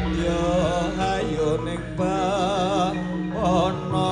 Yo ayo ning bawana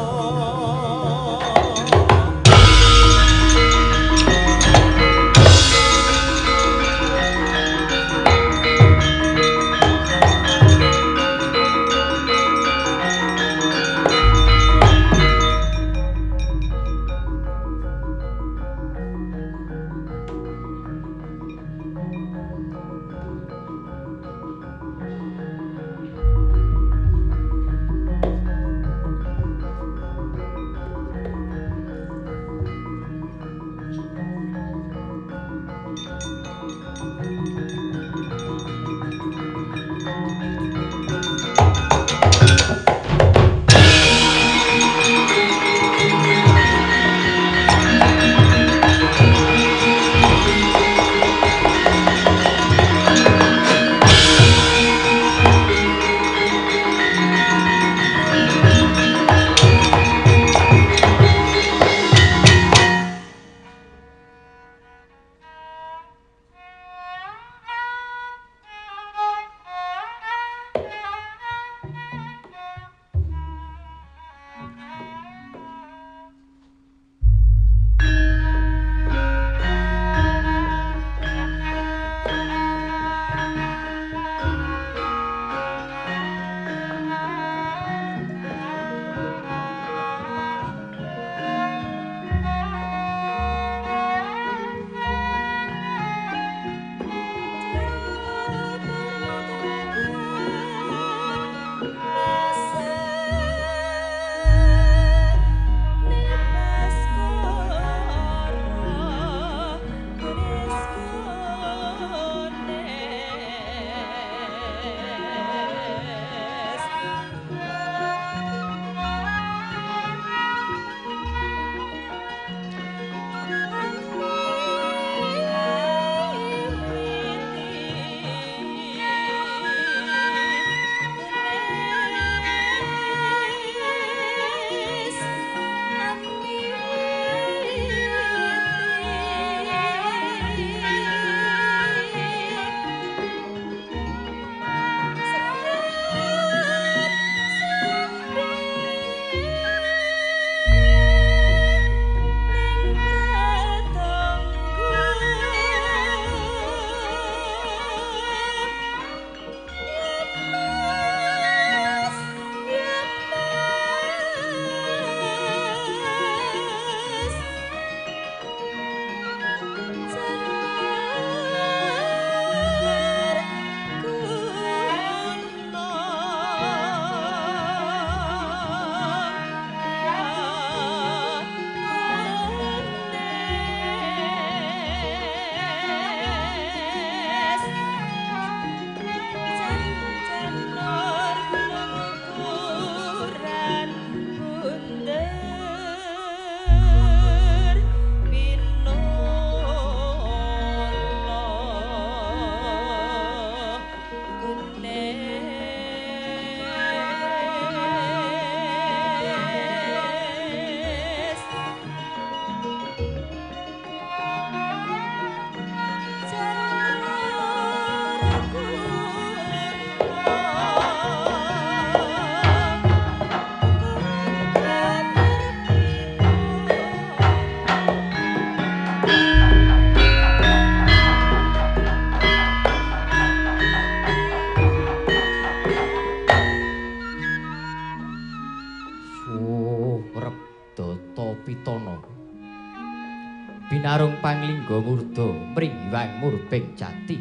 Binarung panglingga murda mringgiwang murbing jati.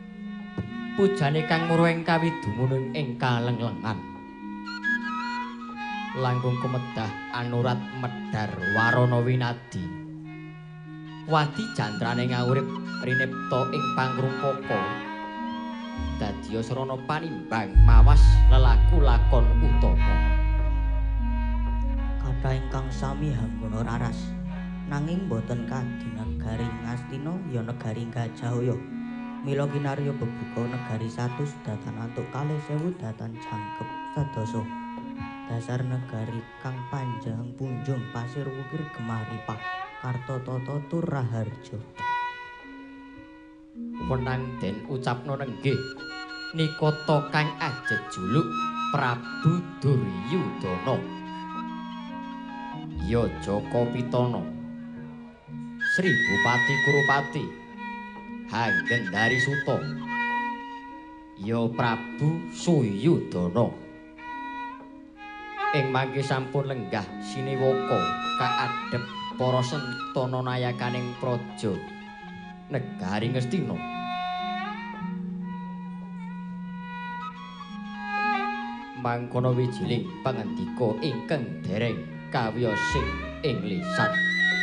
Pujane kang muruing kawidumunung ing kalenglengan. Langkung kemedah anurat medhar warana winadi. Wadi jantrane ngawurip rinipta ing pangrumpaka. Dadya srana panimbang mawas lelaku lakon utama. Kathah ingkang sami hanggana raras. Nanging boten kadi negari Ngastina ya negari Gajahaya. Mila kinarya bebuka negari 100 datan antuk 4000 datan jangkep sedasa. Dasar negari kang panjang punjung pasir wukir gemaripah Kartotata tur Raharja. Wenang den ucapno nenggih Nikata kang ajejuluk Prabu Duryudana. Ya Jaka Pitana, Sri Bupati Kurupati, Hanggendari Suta, ya Prabu Suyudana. Ing mangke sampun lenggah siniwaka kaadhep para sentana nayakaning praja negari Ngastina. Mangkono wijiling pangandika ingkang dereng kawiyosing ing lisan.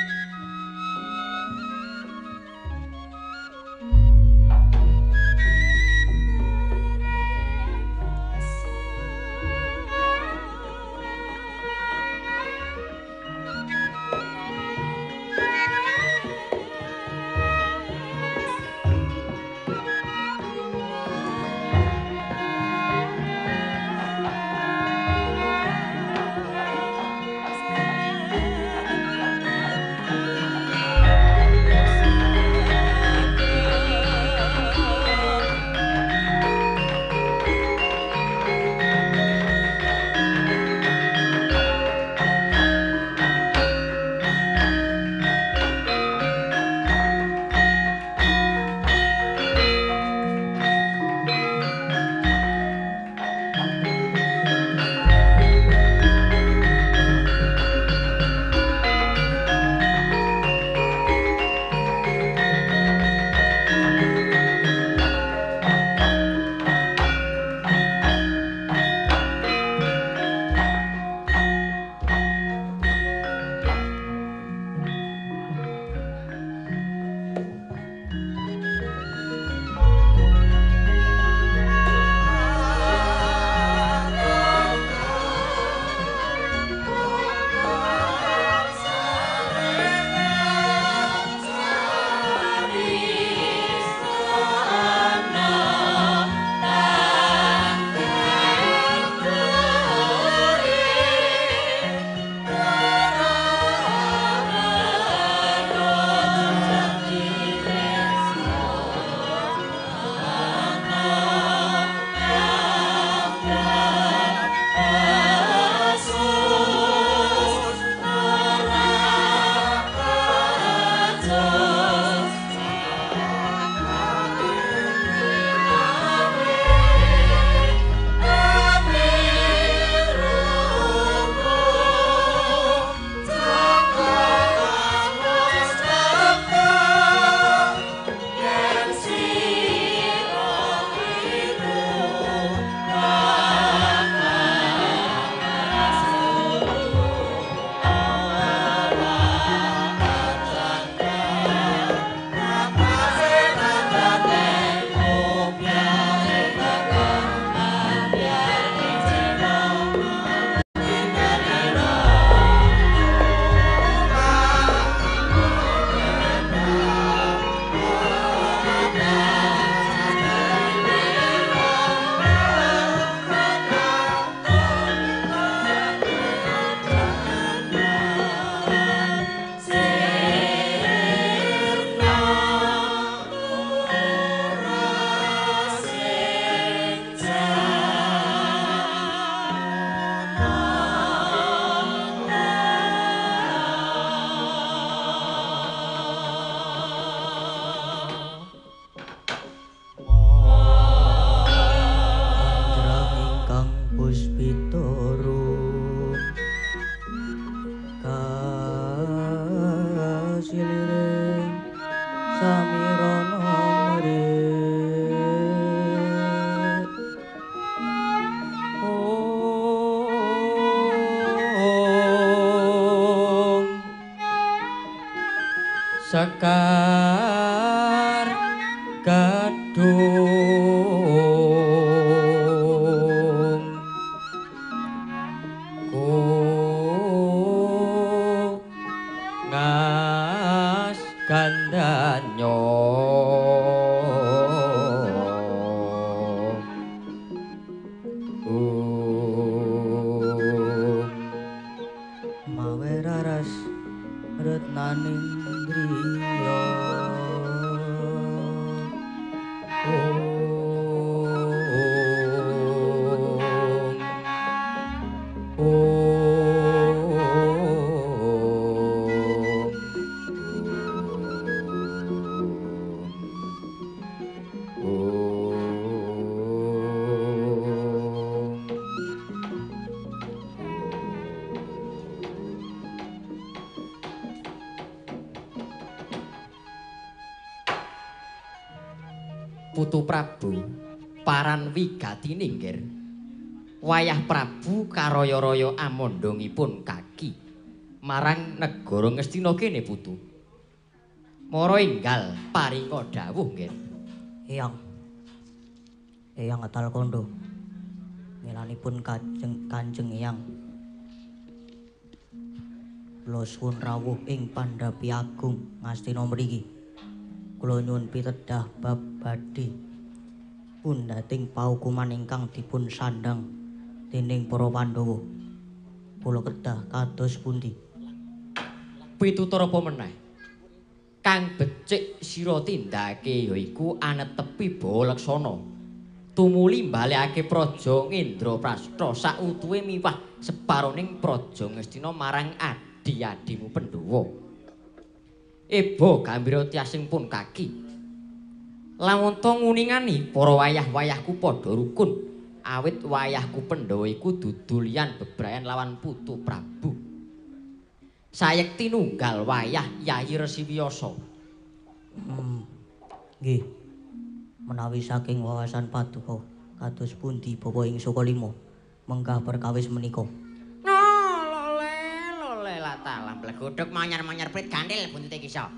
Sekar Gadung ku ngas gandanyo mawe raras retnaning griya Putu Prabu paran wigatine nggir. Wayah Prabu karaya-raya amandhangipun kaki marang negara Ngastina kene Putu. Mara enggal paringa dawuh nggir. Eyang Atal Kondo. Milanipun Kanjeng Eyang. Kula suwun rawuh ing Pandhapi Agung Ngastina mriki. Kula nyuwun pitedah bab badhe pundhating paukuman ingkang dipun sandhang dening para Pandhawa. Kula kedah kados pundi? Pitutur apa meneh? Kang becik sira tindakake yaiku anetepi Balaksana. Tumuli mbalekake praja Ngendraprastha sautuhe miwah separoning praja Ngastina marang adi-adimu Pandhawa. Eba gambira tiasing pun kaki. Lamun to nguningani para wayah-wayahku padha rukun, awit wayahku Pandhawa iku dudu liyan bebrayan lawan Putu Prabu. Sayekti nunggal wayah Yayi Resi Wiyasa. Nggih. Menawi saking wawasan paduka kados pundi Bapa ing Sukalima menggah perkawis menika. Lole latalah blegodhog manyar-manyar prit gandil buntute kisa.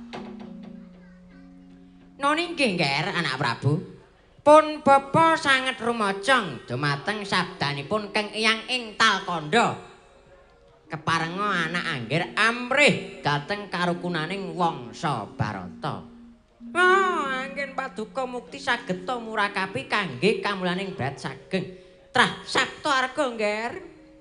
Noni nggih Nger anak Prabu. Pun bapa sanget rumajang dumateng sabdanipun Kang Eyang ing Talkanda. Keparenga anak anggir amrih dhateng karukunaning wangsa Barata. Anggen paduka mukti saged ta murakapi kangge kamulaning brat sageng trah sabta arga Nger.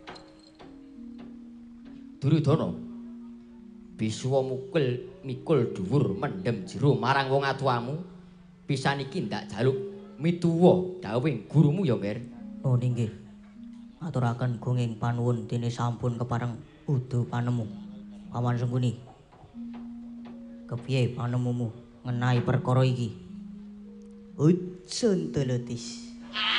Duryudana bisuwa mikul dhuwur mendhem jero marang wong atuwamu. Pisan iki ndak jaluk mituwa dawuhing gurumu ya, Nger. Oh nggih. Aturaken gunging panuwun dene sampun kepareng udu panemu. Paman Sengkuni. Kepiye panemumu ngenai perkara iki? Ucun tulutis.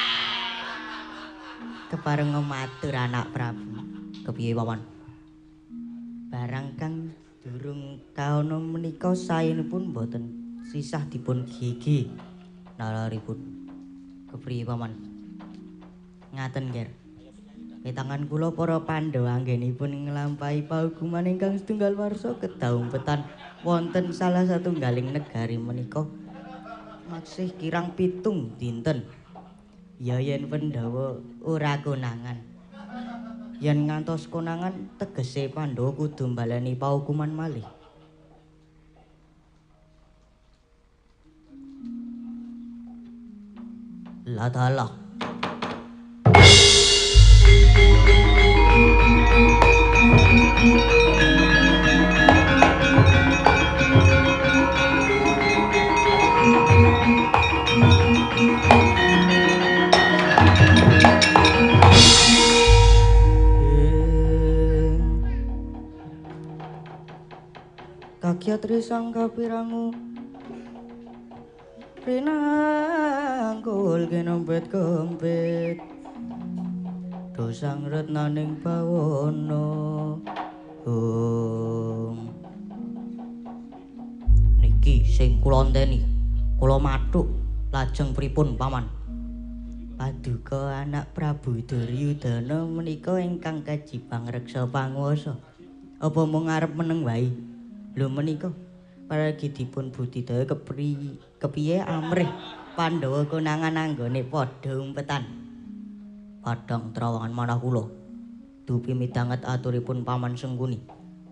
Kepareng matur anak Prabu. Kepiye paman? Barang kang durung kaono menika saenipun boten sisah dipun gigi nalaripun. Kepriye paman? Ngaten Nger. Ketangan kula para Pandhawa anggenipun nglampahi paukuman ingkang setunggal warsa kedaumpetan wonten salah satunggaling negari menika maksih kirang 7 dinten. Ya yen Pandhawa ora konangan. Yen ngantos konangan tegese Pandhawa kudu mbaleni paukuman malih. La dalah. Kakyatri sang kapirangu rinangkul kinempet kempet dosang retnaning bawana niki sing kula enteni kula mathuk lajeng pripun paman? Paduka anak Prabu Duryudana menika ingkang kajibang reksa panguwasa apa mung arep meneng wae? Lho menika paragi dipun budidaya kepiye amrih Pandhawa konangan anggone padha umpetan. Padhang trawangan manah kula dupi midanget aturipun Paman Sengkuni.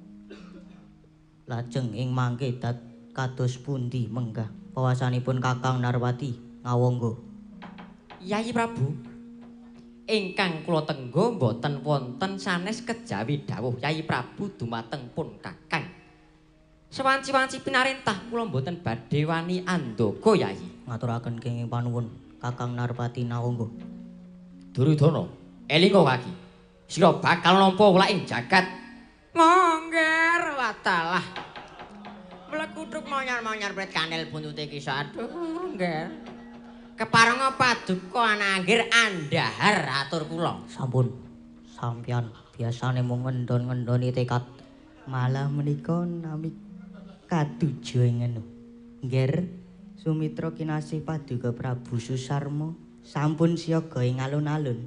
Lajeng ing mangke kados pundi menggah pawasanipun Kakang Narwati ngawangga? Yayi Prabu, ingkang kula tenggo boten wonten sanes kejawi dawuh Yayi Prabu dumateng pun Kakang. Sewanci-wanci pinarentah kula mboten badhe wani andaga Yayi. Ngaturaken kenging panuwun Kakang Narwati ngawangga. Duryudana, elinga kaki. Sira bakal nampa ulaking jagat. Mongger watalah. Mlekuduk manyar-manyar prit kandel buntute kisa. Aduh, Nger. Keparenga paduka anak anggir andhahar atur kula. Sampun. Sampeyan biasane mung ngendon-ngendoni tekad. Malah menika nami katujuh ngenu. Nger Sumitra kinasih paduka Prabu Susarma sampun siaga ing alun-alun.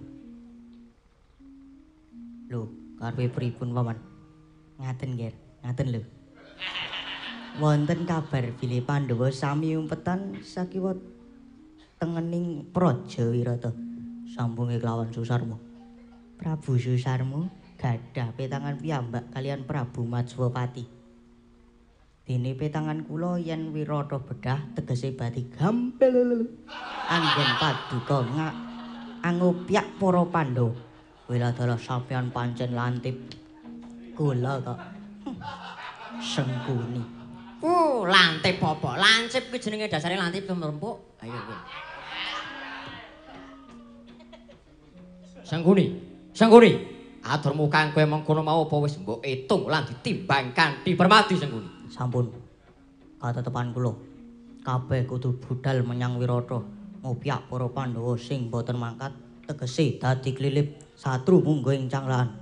Lho, karepe pripun paman? Ngaten nggih, ngaten lho. Wonten kabar bilih Pandhawa sami umpetan sakiwa tengening Praja Wirata sambunge kelawan Susarma. Prabu Susarma gadah petangan piyambak kalian Prabu Majwapati. Dene petangan kula yen Wirata bedah tegese bati gampil anggen paduka angopyak para Pandhawa. Wiladara sampeyan pancen lantip. Kula kok sengkuni. Lantip apa? Lancip kuwi jenenge dasare lantip rempuk. Ayo kowe. Sengkuni. Atur mukang kowe mengkono mau apa wis mbok itung lan ditimbang kanthi permati Sengkuni. Sampun. Katetepan kula. Kabeh kudu budal menyang Wirata. Ngopyak para Pandhawa sing boten mangkat tegese dadi klilip satru munggo ing canglahan.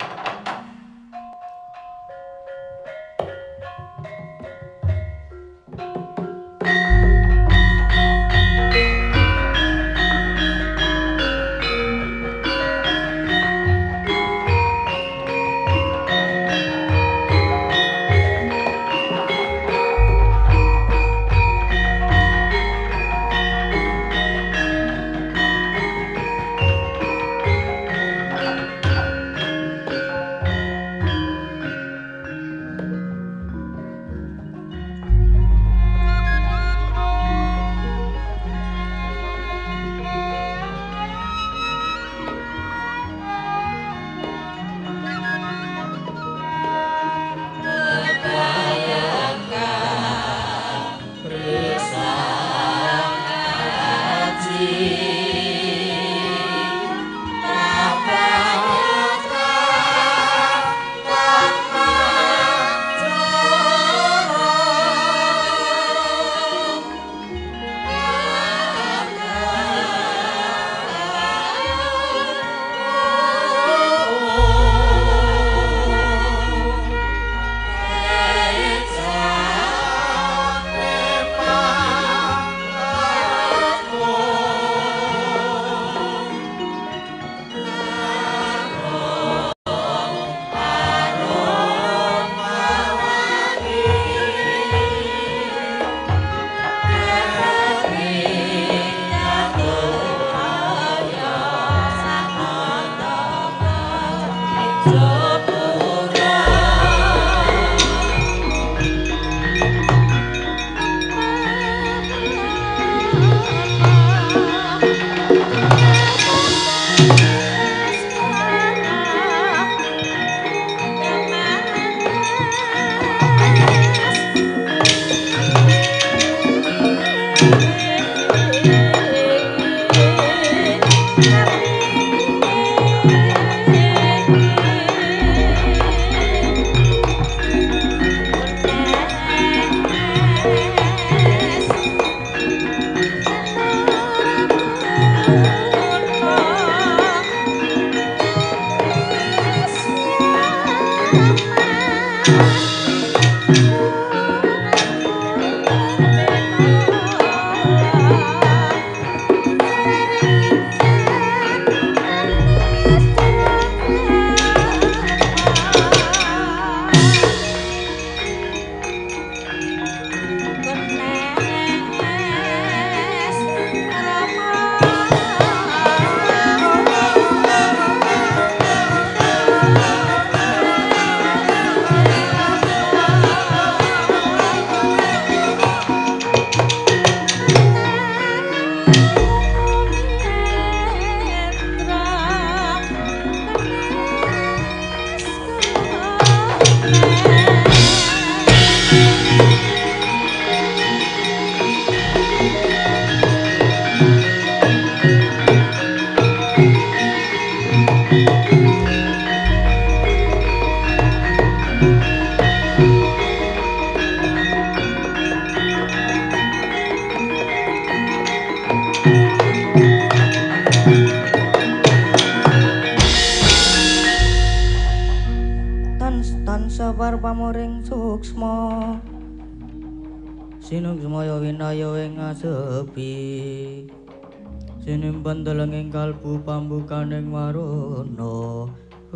Sinung semaya winaya ing sepi sinimpen delenging kalbu pambukaning warana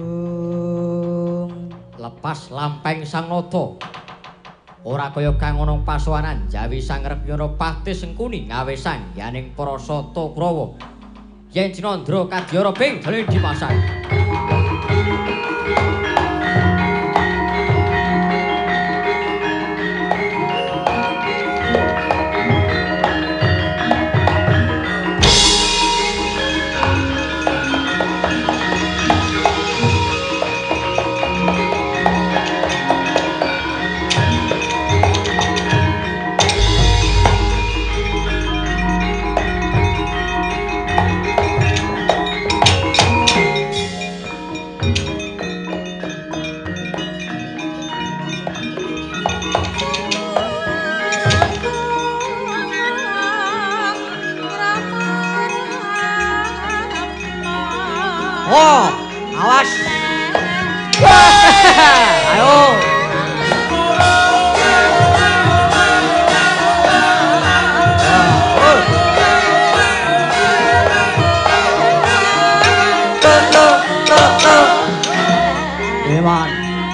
lepas lampeng sang nata ora kaya kang ana pasowanan Jawi sang Rekyana Patih Sengkuni ngawe sangyaning para sata Kurawa yen Cinandra kadyara ping deling dipasang. Oh, awas. Ayo. Dewan.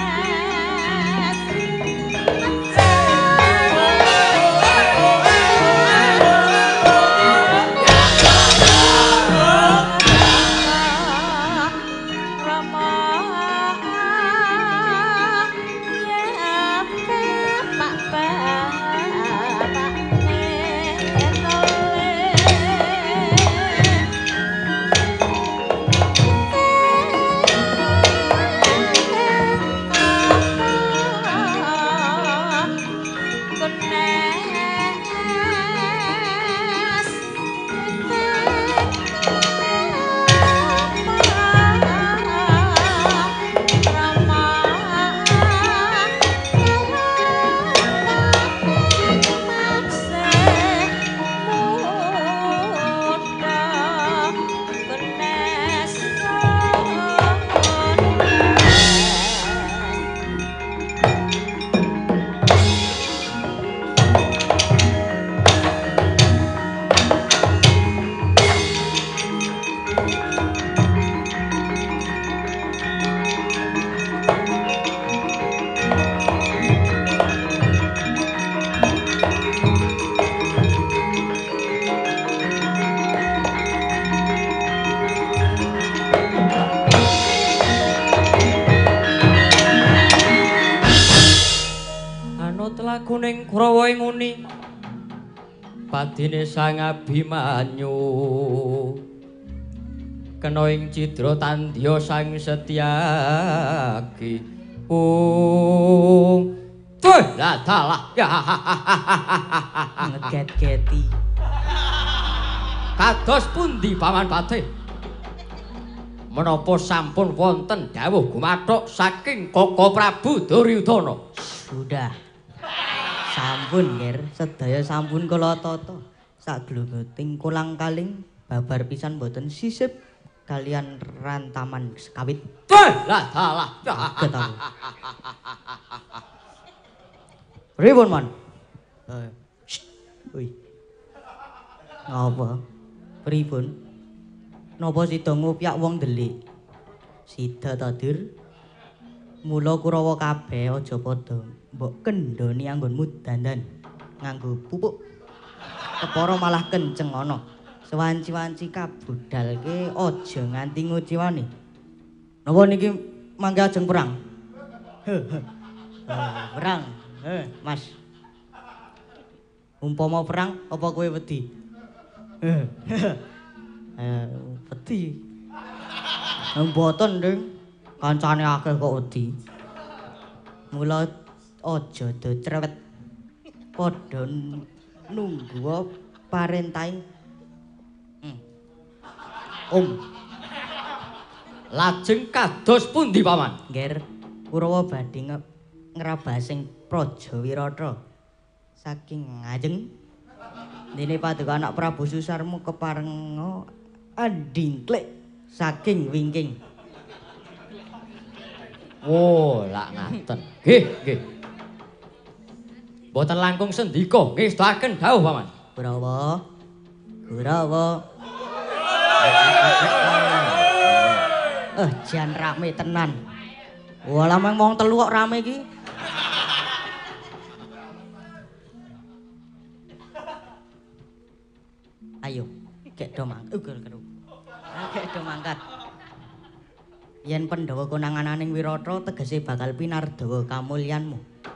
Kuning Kurawa ing nguni padine Sang Abimanyu kena ing cidra tandya Sang Setyaki tuh dalah ngeget-geti kados pundi Paman Patih menapa sampun wonten dawuh gumathuk saking Koko Prabu Duryudana sudah sampun Nger, sedaya sampun kula tata. Saglungguting kolang-kaling babar pisan boten sisip kalian rantaman sekawit. Lah dalah. Ketahu. Pripun, Man? Woi. Ngapa? Pripun? Napa sida ngupyak wong delik? Sida ta, Dur? Mula Kurawa kabeh aja padha mbok kendhoni anggonmu dandan nganggo pupuk. Kepara malah kenceng ana. Sewanci-wanci kabudalke aja nganti nguciwani. Napa niki mangke ajeng perang? Perang. Mas. Umpama perang apa kowe wedi? Wedi. Mboten, Nding. Kancane akeh kok wedi. Mula aja do cerewet. Padha nunggu parentahing Lajeng kados pundi Paman? Nger Kurawa badhe ngrabasing Praja Wirata saking ngajeng dene paduka anak Prabu Susarmu keparenga andingklik saking wingking. Oh, lak ngaten. Nggih, nggih. boten langkung sendika ngestaken dawuh paman. Kurawa. Kurawa. Jan rame tenan. Walah meng wong telu kok rame iki. Ayo, gek do mangkat. Gek do mangkat. Yen Pandhawa konangananing Wirata tegese bakal pinardawa kamulyanmu.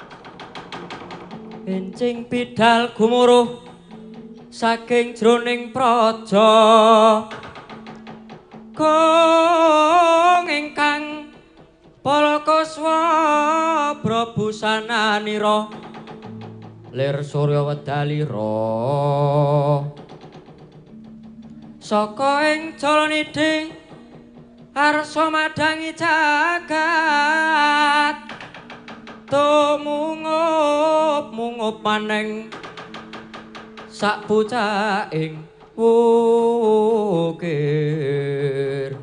Encing bidal gumuruh saking jroning praja kong ingkang palakaswa prabusananira lir surya wedalira saka ing jalanidhi arsa madangi jagat mungup maneng sak pucaking wukir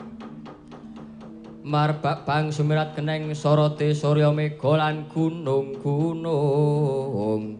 marbak bang sumirat keneng soroti surya mega lan gunung-gunung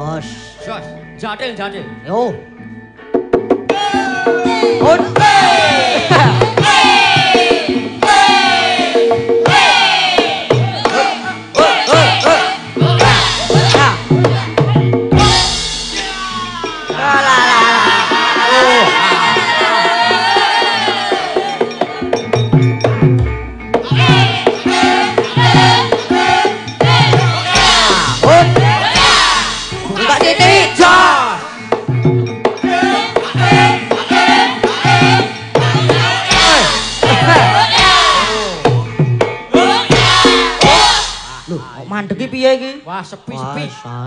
Jos. Jos. Jadil. Yo. Hon. Mandeki piye iki? Wah, sepi-sepi.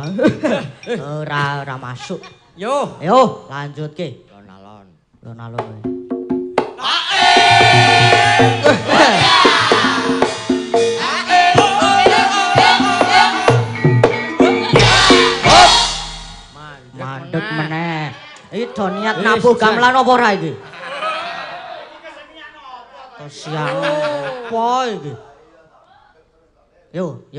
Ora masuk. Yo, lanjutke. Lonalon. Mandek meneh. Iki do niat nabuh gamelan apa ora iki? Siang apa iki? Yo.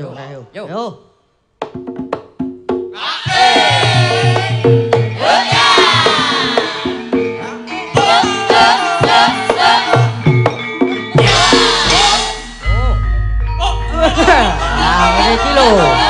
Iki lho.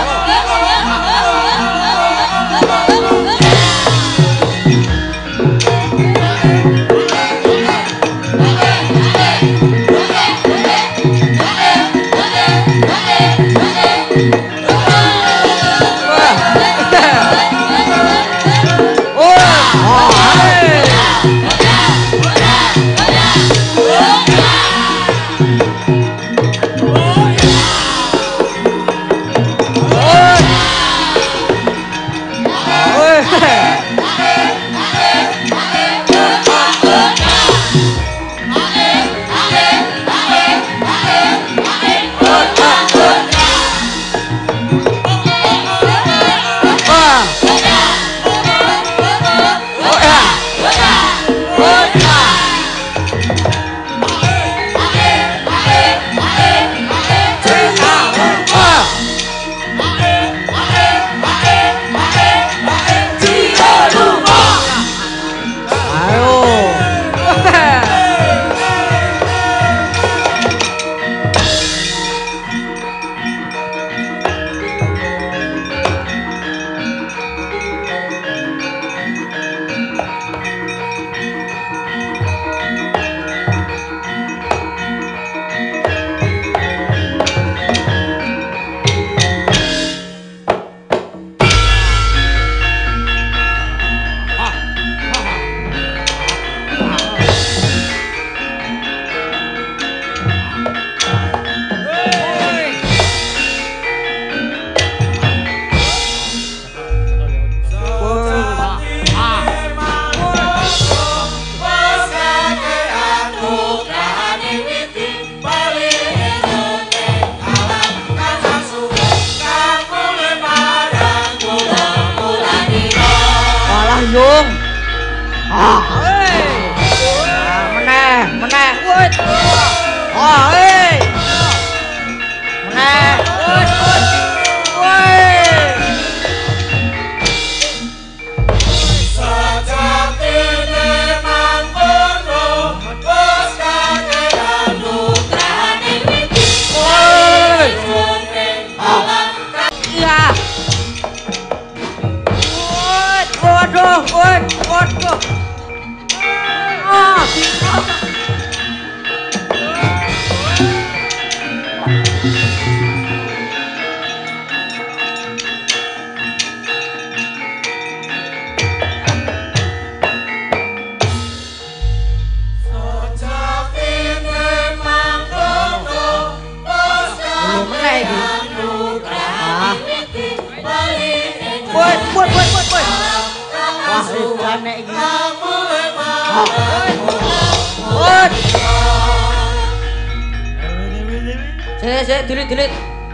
Dilit.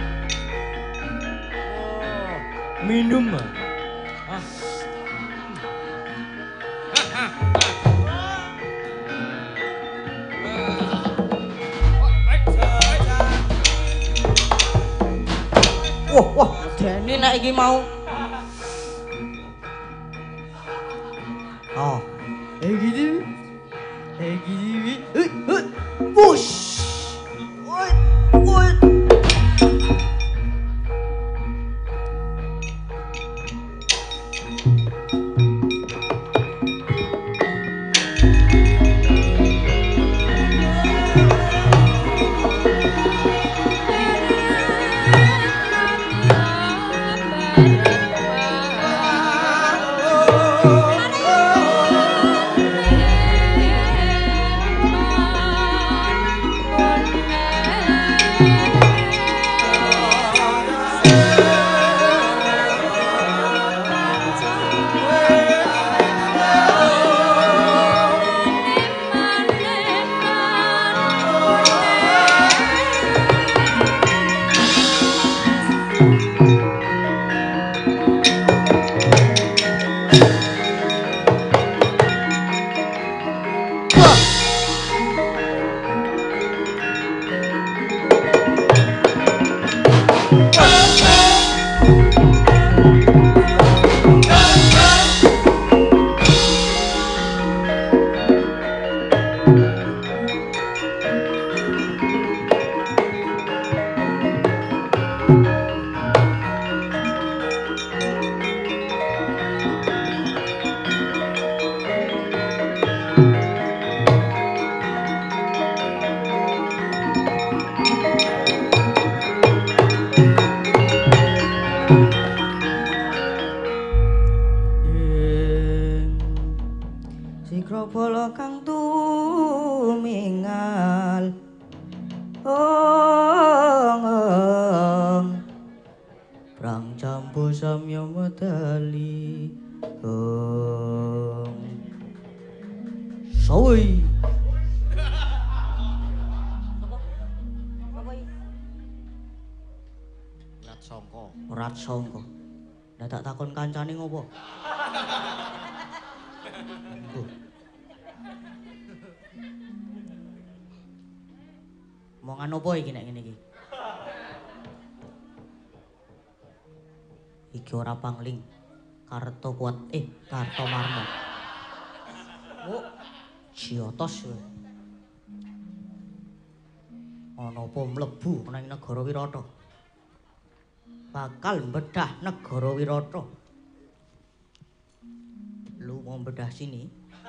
Minum. Wah, Deni nek iki mau. Oh. Gini. Gini. Wush. Woi. Bala kang tumingal prang campu samya medali sawi Rat Sangka ndak tak takon kancane ngopo Omongan opo iki nek ngene iki? Iki ora pangling. Karto kuat Karto Marmo. Oh, Ciotos kowe. Ana apa mlebu nang negara Wirata? Bakal mbedah negara Wirata. Lu mau bedah sini?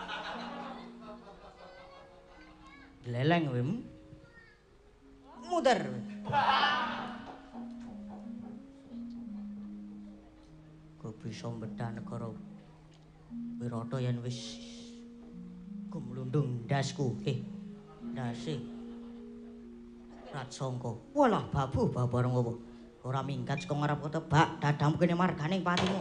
Leleng wem. Muter. Kok bisa bedah negara Wirata yen wis kumlundung ndasku. Ndase. Rat Sangka. Walah babu bareng apa? Ora minggat saka ngarep tebak dadamu kene marganing patimu.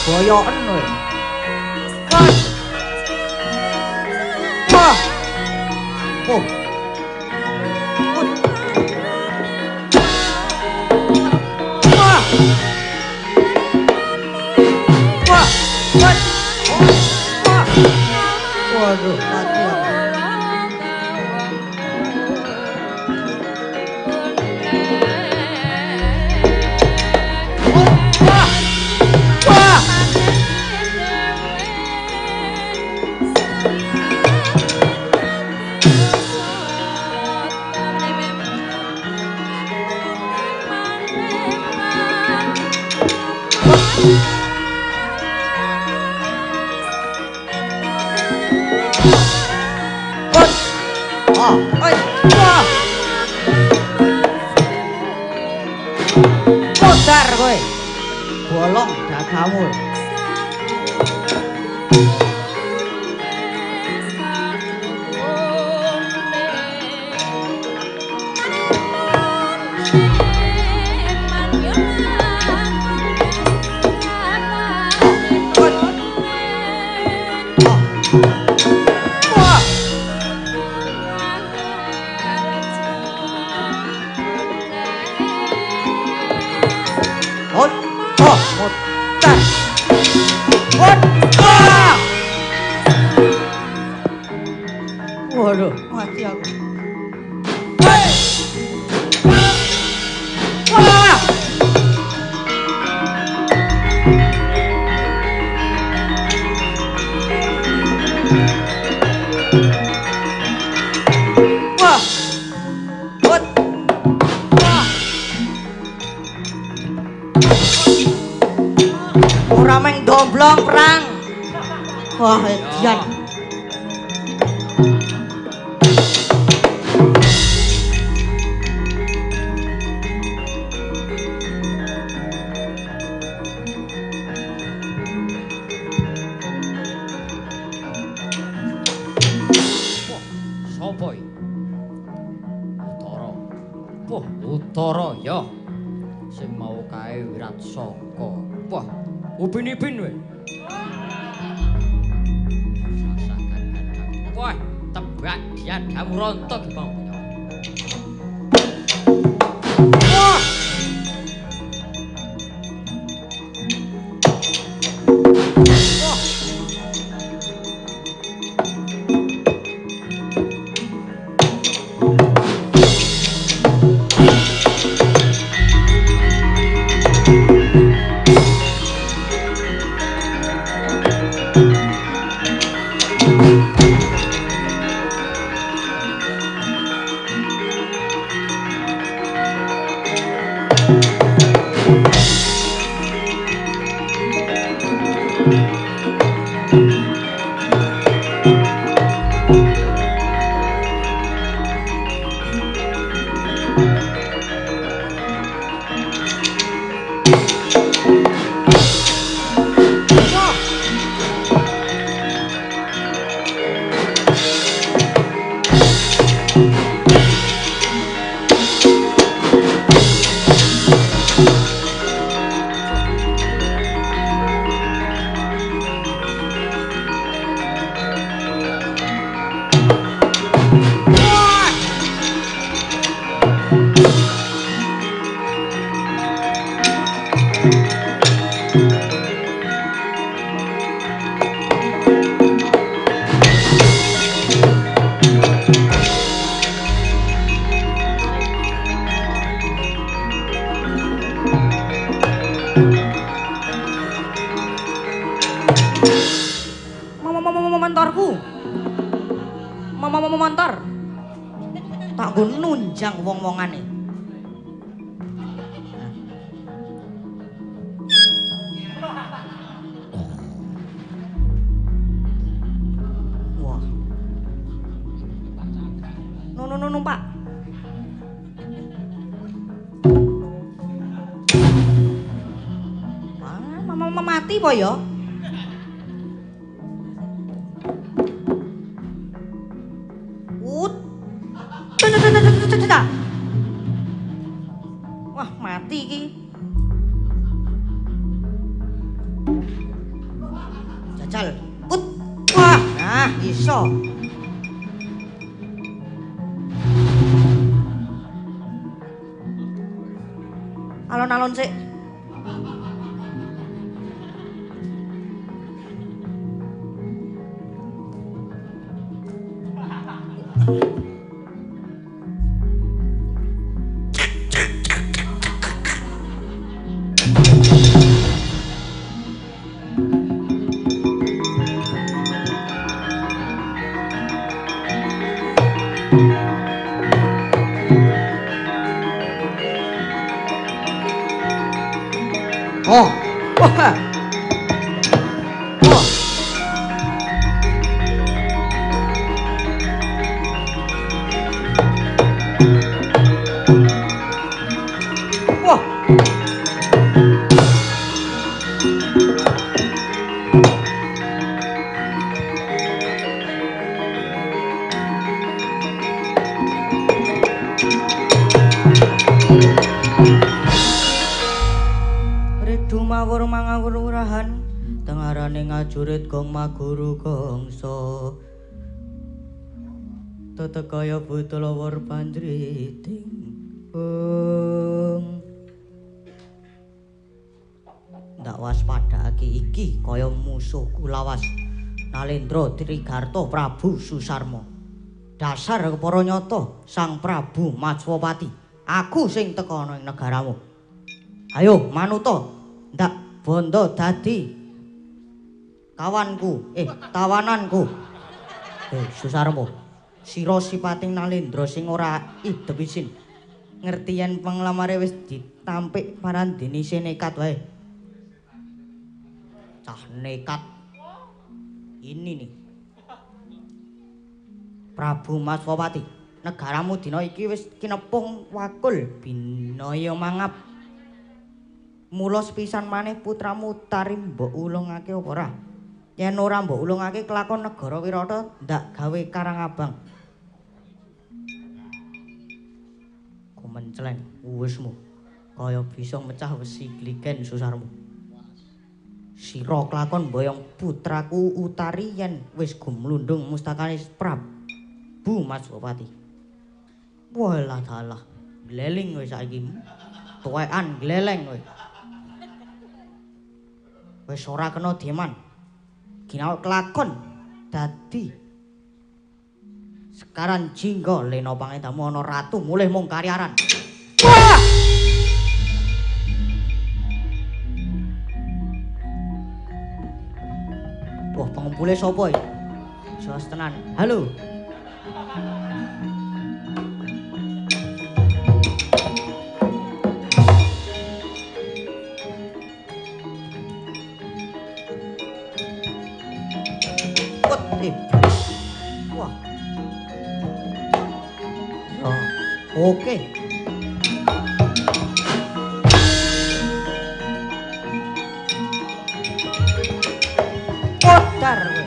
boyoken kowe. Wah. Wah. Oh. Wah. Wah. Wah. Wah. Waduh, mati aku. Modar kowe. Bolong dagamu. Waduh, mati aku. Wah! Wah! Wah! Ora meng domblong perang. Wah, edian. Sopo iki? Utara. Wah, Utara ya. Sing mau kae Wiratsaka. Wah, upin-ipin kowe. Sasakan kadang. Wah, tebak dia damu rontok Bang. Wah! Montor. Tak nggo nunjang wong-wongane. Wah. Numpak. Mama mati po ya? Wah, mati iki. ical. Put. Wah, nah iso. Alon-alon sik. Oh, wah, oh, wah, Ridu mawur mangawur wurahan, tengarane ngajurit gong maguru gongso. Tetekaya budala war panjriting. Ndak waspadake iki kaya musuhku lawas. Nalendra Trigarta Prabu Susarma. Dasar kepara nyata Sang Prabu Matswapati. Aku sing teka ana ing negaramu. Ayo manuta ndak bondo dadi kawanku, tawananku. Susarma, sira sipating Nalendra sing ora idep isin. Ngerti yen penglamare wis ditampik parandene nekat wae. Cah nekat. Ini nih. Prabu Matswapati, negaramu dina iki wis kinepung wakul binaya mangap. Mula sepisan maneh putramu Utari mbok ulungake apa ora? Yen ora mbok ulungake kelakon negara Wirata ndak gawe Karang Abang. Kumencleng uwismu kaya bisa mecah wesi Gligen Susarmu. Sira kelakon mboyong putraku Utari yen wis gumlundung mustakane Prabu Matswapati. Walah dalah, gleling kowe saiki. Tuwekan gleleng kowe. Wis ora kena deman. Ginaut kelakon dadi sekaran jingga lena pangendamu ana ratu mulih mung karyaran. Wah! Wah, pengumpule sapa iki? Jos tenan. Halo. Wah. Oh, oke. Odar kowe.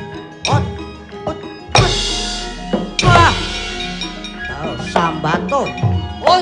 Wah. Oh, sambato. Wah.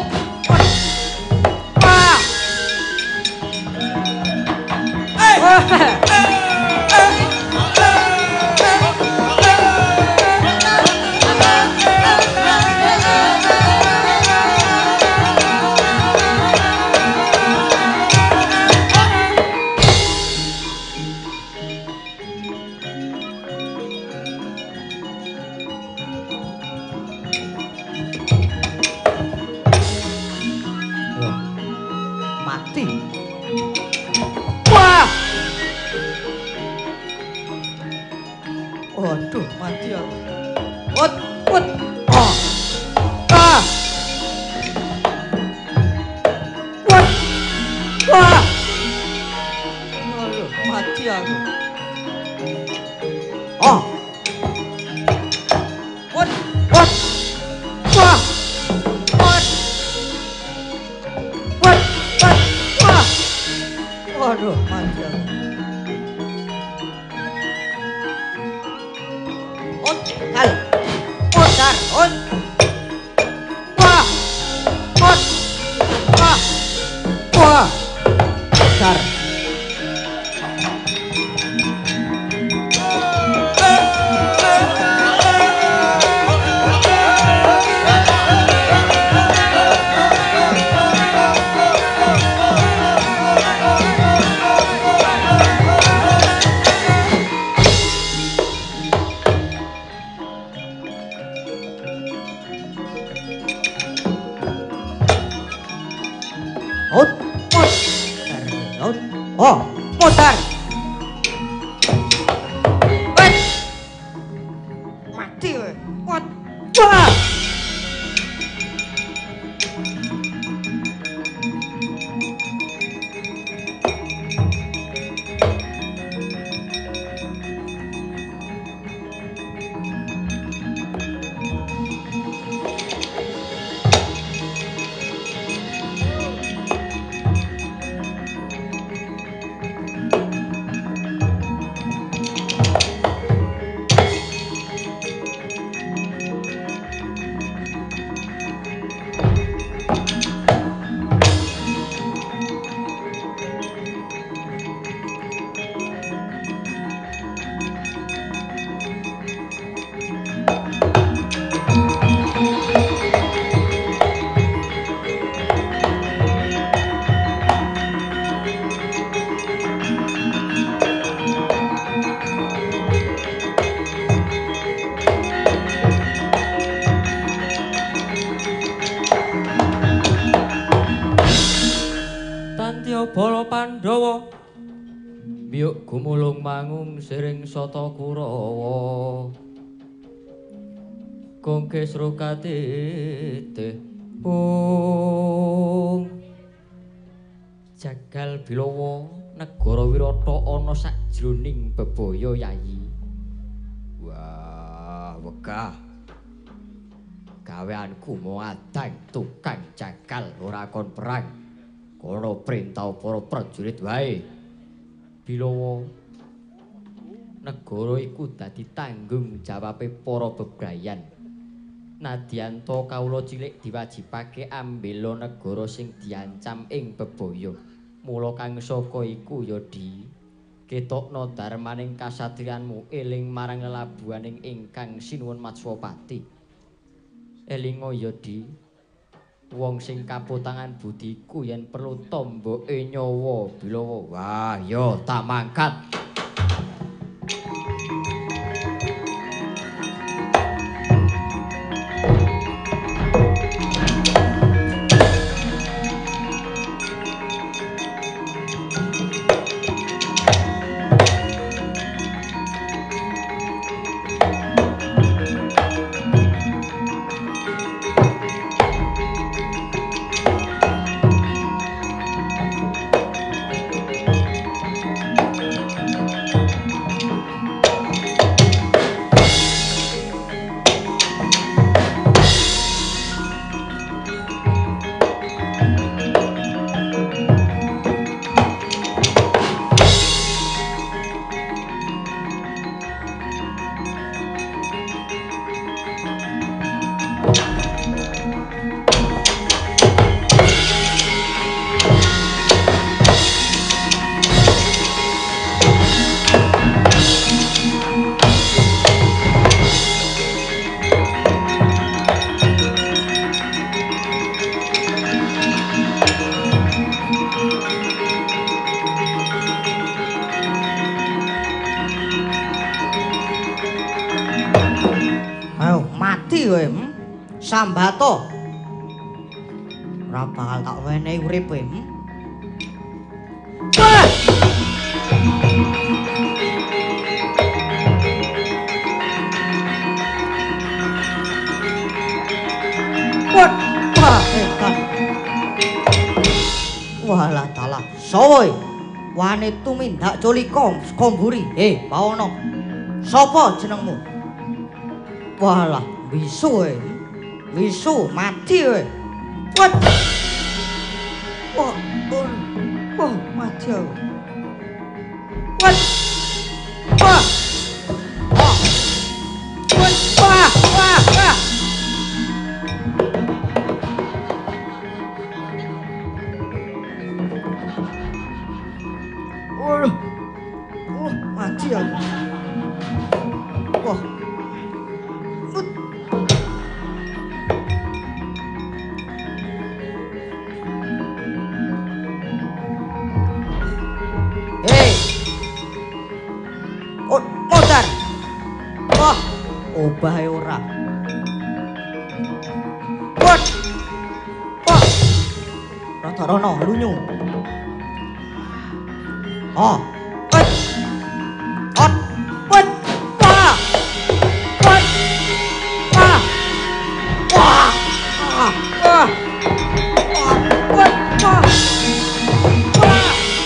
Mati. Wah. Waduh, mati aku. Wut. Oh. Ah. Wut. Wah. Waduh, mati aku. Oh. Wut. Wah. Wah. Waduh, mati aku. Hal. Odar. Wah. Wah. Wah. Odar. Modar. Wes. Mati kowe. Kuat. Wah. Bala Pandhawa miyuk gumulung mangung siring sata Kurawa kongke srokatete jagal Bilawa negara Wirata ana sajroning bebaya yayi. Wah, wegah. Gaweanku mau adang tukang jagal ora kon perang. Kono perintah para prajurit wae. Bilawa negara iku dadi tanggung jawabe para bebrayan. Nadyanto kawula cilik diwajibake ambela negara sing diancam ing bebaya. Mula kang saka iku ya Di, ketokno darmaning kasatriyanmu eling marang lelabuhaning ingkang sinuwun Matswapati. Elinga ya Di, wong sing kaputangan budiku yen perlu tomboke nyawa Bilawa. Wah, ya tak mangkat. Sambato ora bakal tak wenehi uripe. Wah! Wah, edan. Walah dalah, sawoe wani tumindak culika komburi. Bawana. Sapa jenengmu? Walah, bisu Wisu mati kowe. Wat. Wah, mati aku. Wat. Wah. Wah. Wat. Wah. Mati aku. Wah. Modar. Wah, obahe ora. Wat. Wah. Rada rono lunyu. Oh. Wet. Ot. Wet. Wah. Wet. Wah. Wah. Wah. Wah. Wet. Wah. Wah.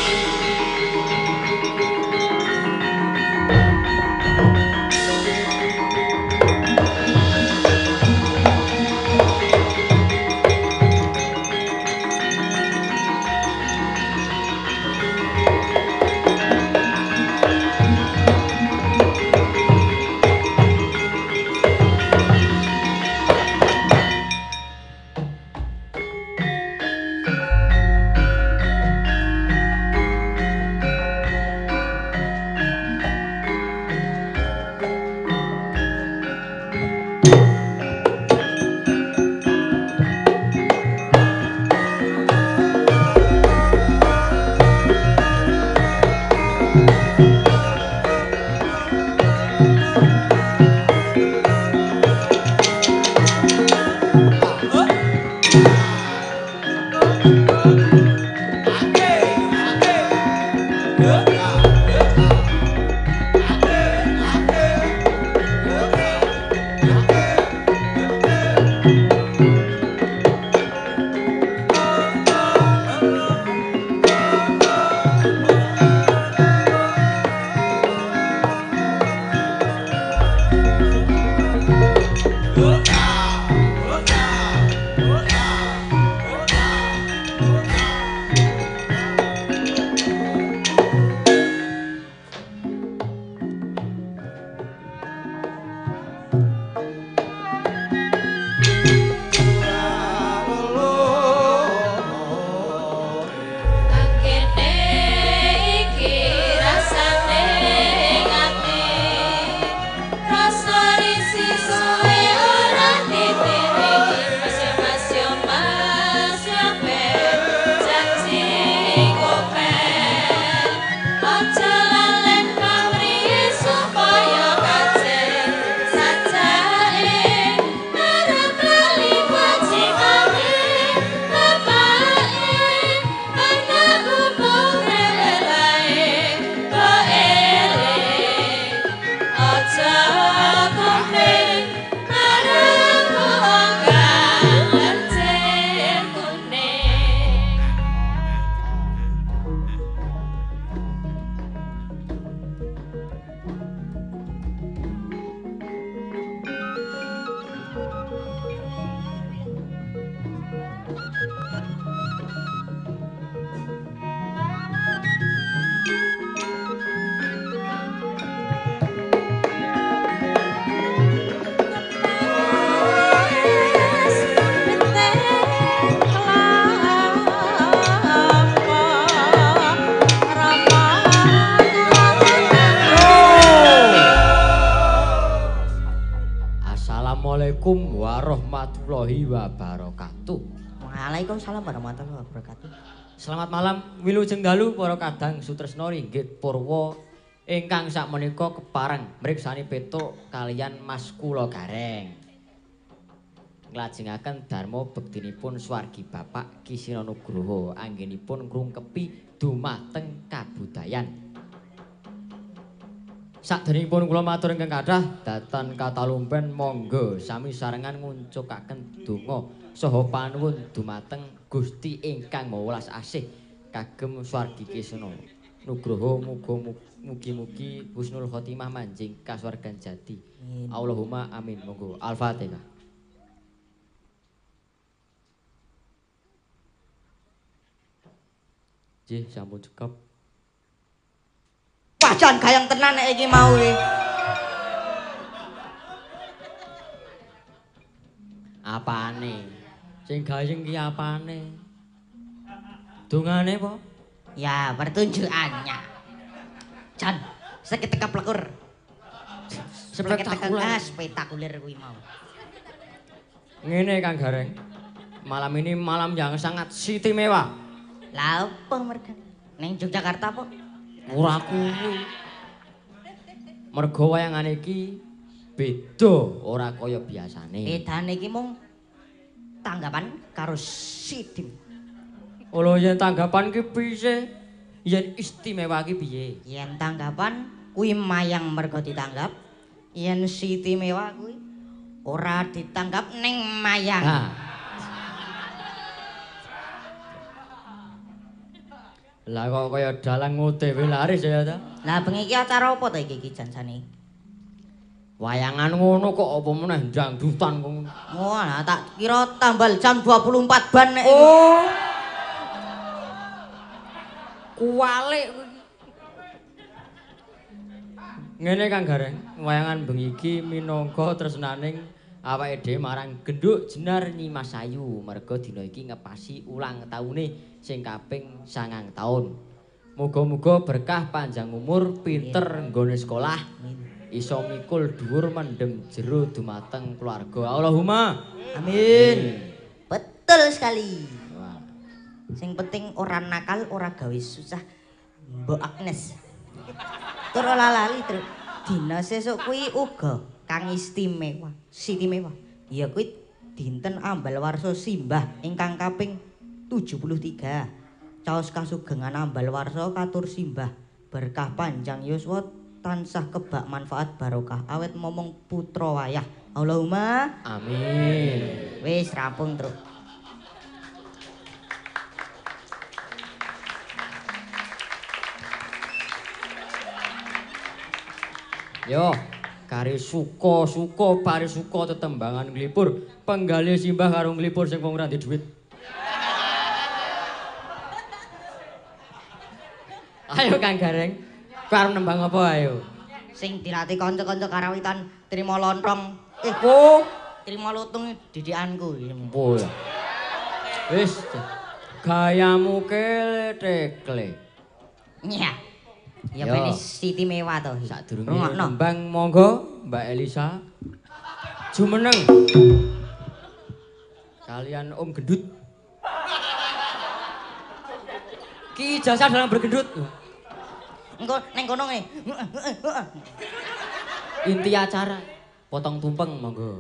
Assalamualaikum warahmatullahi wabarakatuh. Waalaikumsalam warahmatullahi wabarakatuh. Selamat malam wilujeng dalu para kadang sutresna ringgit purwa ingkang sakmenika kepareng mriksani petuk kaliyan Mas Kula Gareng. Nglajengaken dharma bektinipun swargi Bapak Kisina Nugroho anggenipun ngrungkepi dumateng kabudayan. Saderengipun kula matur ingkang kathah dhateng katalumpen monggo sami sarengan nguncukaken donga saha panuwun dumateng Gusti ingkang Maha Welas Asih kagem swargi Kisna Nugroho mugi-mugi husnul khotimah manjing kasuwargan jati. Allahumma amin. Monggo Al-Fatihah. Nggih sampun cukup. Pajan gayang tenan nek iki mau iki. Apane? Sing gayeng ki apane? Dungane po? Ya, pertunjukannya. Jan, seketika plekur. Spektakuler kuwi mau. Ngene Kang Gareng. Malam ini malam yang sangat istimewa. Lah opo mergane? Ning Yogyakarta po? Ora kuwi. Mergo wayangane iki beda ora kaya biasane. Bedane iki mung tanggapan karo Sidim. Lho yen tanggapan ki piye? Yen istimewa ki piye? Yen tanggapan kuwi mayang mergo ditanggap. Yen istimewa kuwi ora ditanggap ning mayang. Nah. Lah kok kaya dalang OTW laris ya ta? Lah bengi iki acara apa ta iki jansane? Wayangan ngono kok apa meneh dangdutan kok ngono. Wah, tak kira tambal jam 24 ban nek. Oh. Kualik kuwi. Ngene Kang Gareng, wayangan bengi iki minangka tresnaning awake dhewe marang genduk Jenar Nyimas Ayu merga dina iki ngepasi ulang taune sing kaping 9 taun. Muga-muga berkah panjang umur, pinter nggone sekolah, iso mikul dhuwur mendem jero dumateng keluarga. Allahumma Amin. Betul sekali. Wah. Sing penting ora nakal, ora gawe susah. Mbok Agnes. Tur ora lali, Tru. Dina sesuk kuwi uga kang istimewa. Ya kuwi dinten ambal warsa simbah ingkang kaping 73. Caos kasugengan ambal warsa katur simbah. Berkah panjang yuswa tansah kebak manfaat barokah awet momong putra wayah. Allahumma Amin. wis rampung, Tru. Yo, kari suka pari suka tetembangan nglipur, penggalih simbah karo nglipur sing wong ora ndek dhuwit. Ayo Kang Gareng, karo nembang apa ayo? Sing dilatih kanca-kanca karawitan trima lontong. Oh, Trima lutung didikanku. empo ya. Wis, gayamu kele-tekle. Iya. Ya Yo. ben Siti mewah to. Sadurunge Rungokno. nembang monggo Mbak Elisa. Jumeneng. Kalian Om Gendut. Ki ijazah dalam bergendut. Engko ning kono ngene. Inti acara potong tumpeng monggo.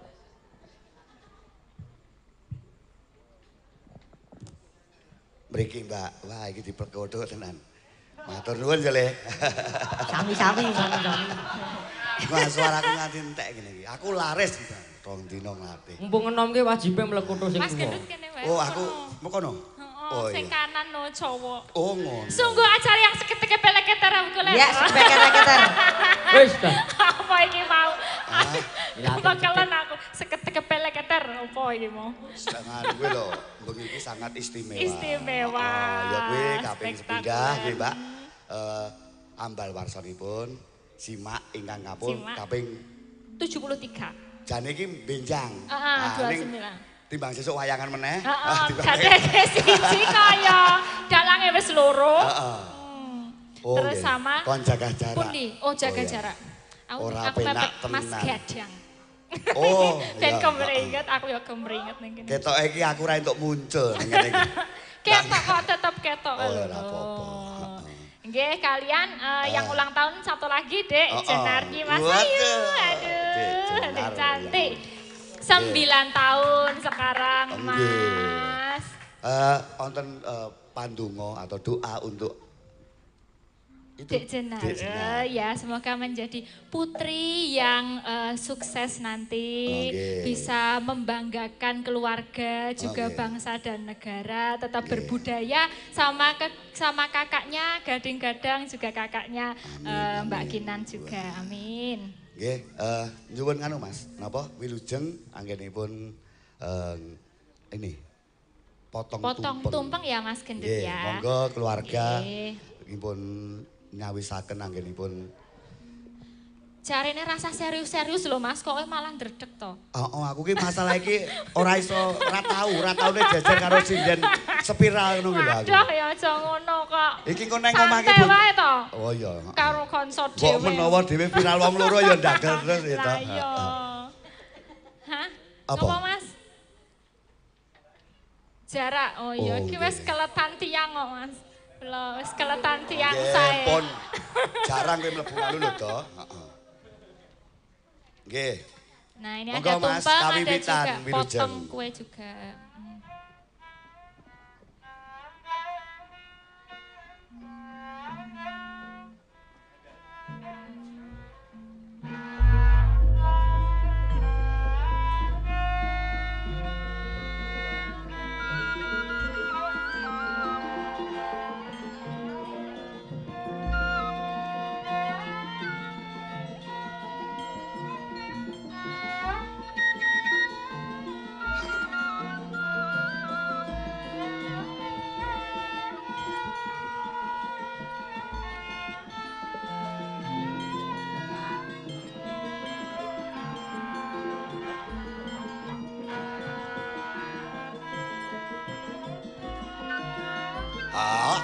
Mriki Mbak, wah iki diperkodo tenan. Matur nuwun jale. Sami-sami. Wah suaraku nganti entek ngene iki. Aku laris Mbak. Rong dina nglatih. Mumpung enom ki wajibe mlekutu sing Mas tuwa. Gendut kene wae. Oh aku mekono. Oh, sing kanan no cowok. Oh ngono. Sungguh acara yang seketika peleketer aku lek. Ya, seketer-keter. Wis dah. Apa iki mau? ya, Bakalan aku seketika peleketer apa iki mau? Sangat kuwi lho, bengi iki sangat istimewa. Istimewa. Ya kuwi kaping Spektakuler. sepinggah nggih Mbak. Ambal warsanipun simak ingkang Simak. kaping 73. jane iki benjang. Heeh, ning 29. Timbang sesuk wayangan meneh. Heeh, timbang- jadeke siji kaya dalange wis loro. Heeh. Oh, Terus nggih. sama kon jaga jarak. Pundi? Oh, jaga iya. jarak. Aku Ora aku penak mepet Mas tenan. Gadang. Oh, Ben iya, kemringet, aku ya kemringet ning kene. Ketoke iki aku ra entuk muncul ning ngene iki. Ketok kok tetep ketok. Oh, lho. ora apa-apa. Nggih, kalian yang ulang tahun satu lagi, Dek. Oh, oh. Jenarji Mas Waduh. Ayu. Dek Aduh, Jenar, Dek cantik. ya. 9 tahun sekarang, Nggih. Mas. Wonten pandonga atau doa untuk itu Dek Jenar. Dek Jenar. Ya, semoga menjadi putri yang sukses nanti, Oke. bisa membanggakan keluarga, juga Oke. bangsa dan negara, tetap Oke. berbudaya sama sama kakaknya, Gading-Gadang juga kakaknya Amin, Mbak amin. Kinan juga. Amin. Nggih, nyuwun nganu Mas, napa wilujeng anggenipun ini potong Tumpeng ya Mas Gendut Nggih, ya. monggo keluarga Nggih. pun nyawisaken anggenipun. Jarene rasa serius-serius loh Mas, kok malah ndredeg to. Oh, aku ki masalah iki ora taune jajar karo sinden spiral ngono ki lho aku. Aduh ya aja ngono kok. Iki kok nang omah ki Santai Bu. wae to. Oh iya. Karo konco Kok dhewe. menawa dhewe viral wong loro ya ndagel terus ya Lah to. iya. Hah? Apa? Apa Mas? Jarak. Oh iya, Oh, iki wis nggih. keletan tiang kok Mas. Lho, wis keletan tiang Nggih, sae. pun jarang kowe mlebu ngalu lho to. Heeh. Nggih. Nah, ini Monggo, ada Mas, tumpeng, ada kawiwitan, juga wilujeng. potong kue juga. Hmm. Ah.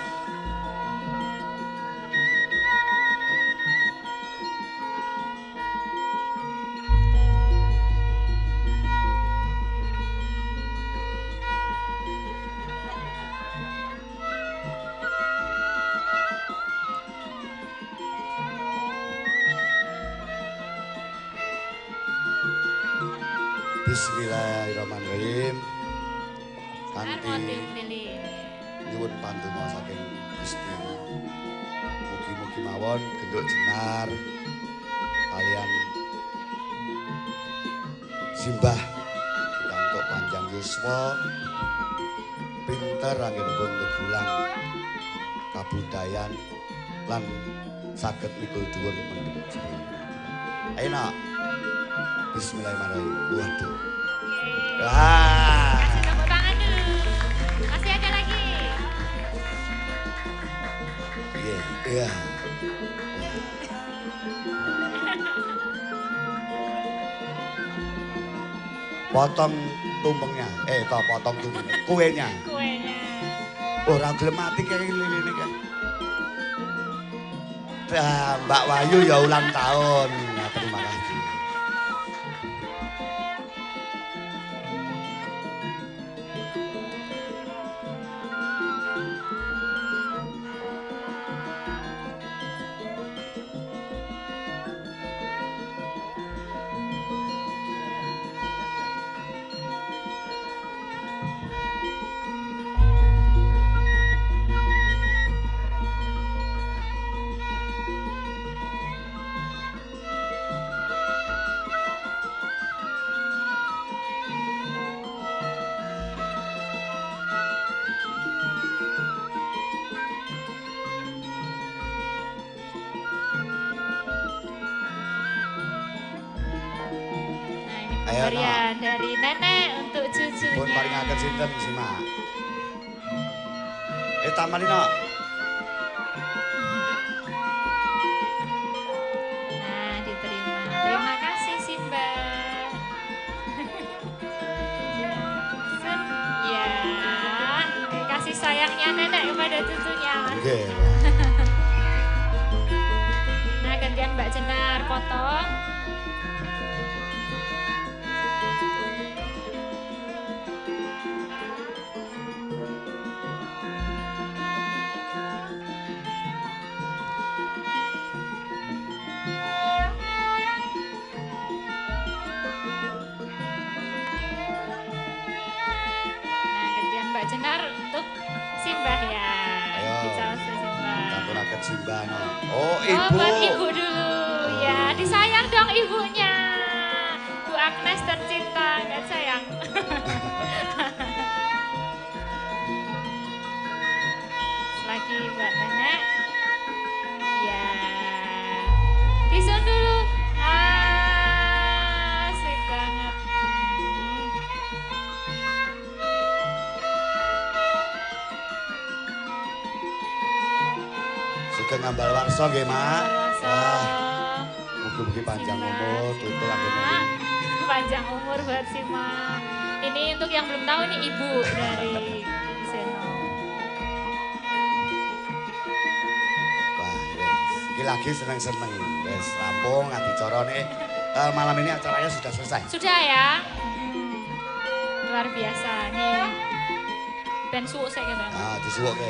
Bismillahirrahmanirrahim. Kanthi nyuwun pandonga saking Gusti. Mugi-mugi mawon genduk jenar kalian simbah kantuk panjang yuswa pinter anggenipun tegulang kabudayan lan saged mikul dhuwur mendhet. Ayo nak. Bismillahirrahmanirrahim. Waduh. Kasih tepuk tangan dulu. Masih ada lagi. Iya, iya. Potong tumpengnya. Potong tumpeng. Kuenya. Kuenya. Ora gelem mati kayak lilin iki. Mbak Wayu ya ulang tahun. Nah, terima kasih. Nah, ini pemberian dari nenek untuk cucunya. Pun paringaken sinten Simak? Tamani nok. Nah, diterima. Terima kasih Simba. Sun, ya, kasih sayangnya nenek kepada cucunya. Nggih. Nah, gantian Mbak Jenar potong. Mbak Jenar untuk Simbah ya. Ayo. Dicaos Simbah. Katuraken Simbah no. Oh, Oh, ibu. buat ibu dulu. Ya, disayang dong ibunya. Bu Agnes tercinta, nggak sayang. Lagi buat nenek. Ya. Disun dulu. Asik banget. Sugeng ngambal warsa nggih, Mak. Warsa. Wah, mugi-mugi panjang umur, tutul anggen. Panjang umur buat Sima. Ini untuk yang belum tahu nih ibu dari Seno. Wah, wes. Iki lagi seneng-seneng. Wes rampung adicara nih. Malam ini acaranya sudah selesai. Sudah ya? Luar biasa nih. Ben suwuk saya gitu. Nah, disuwukke.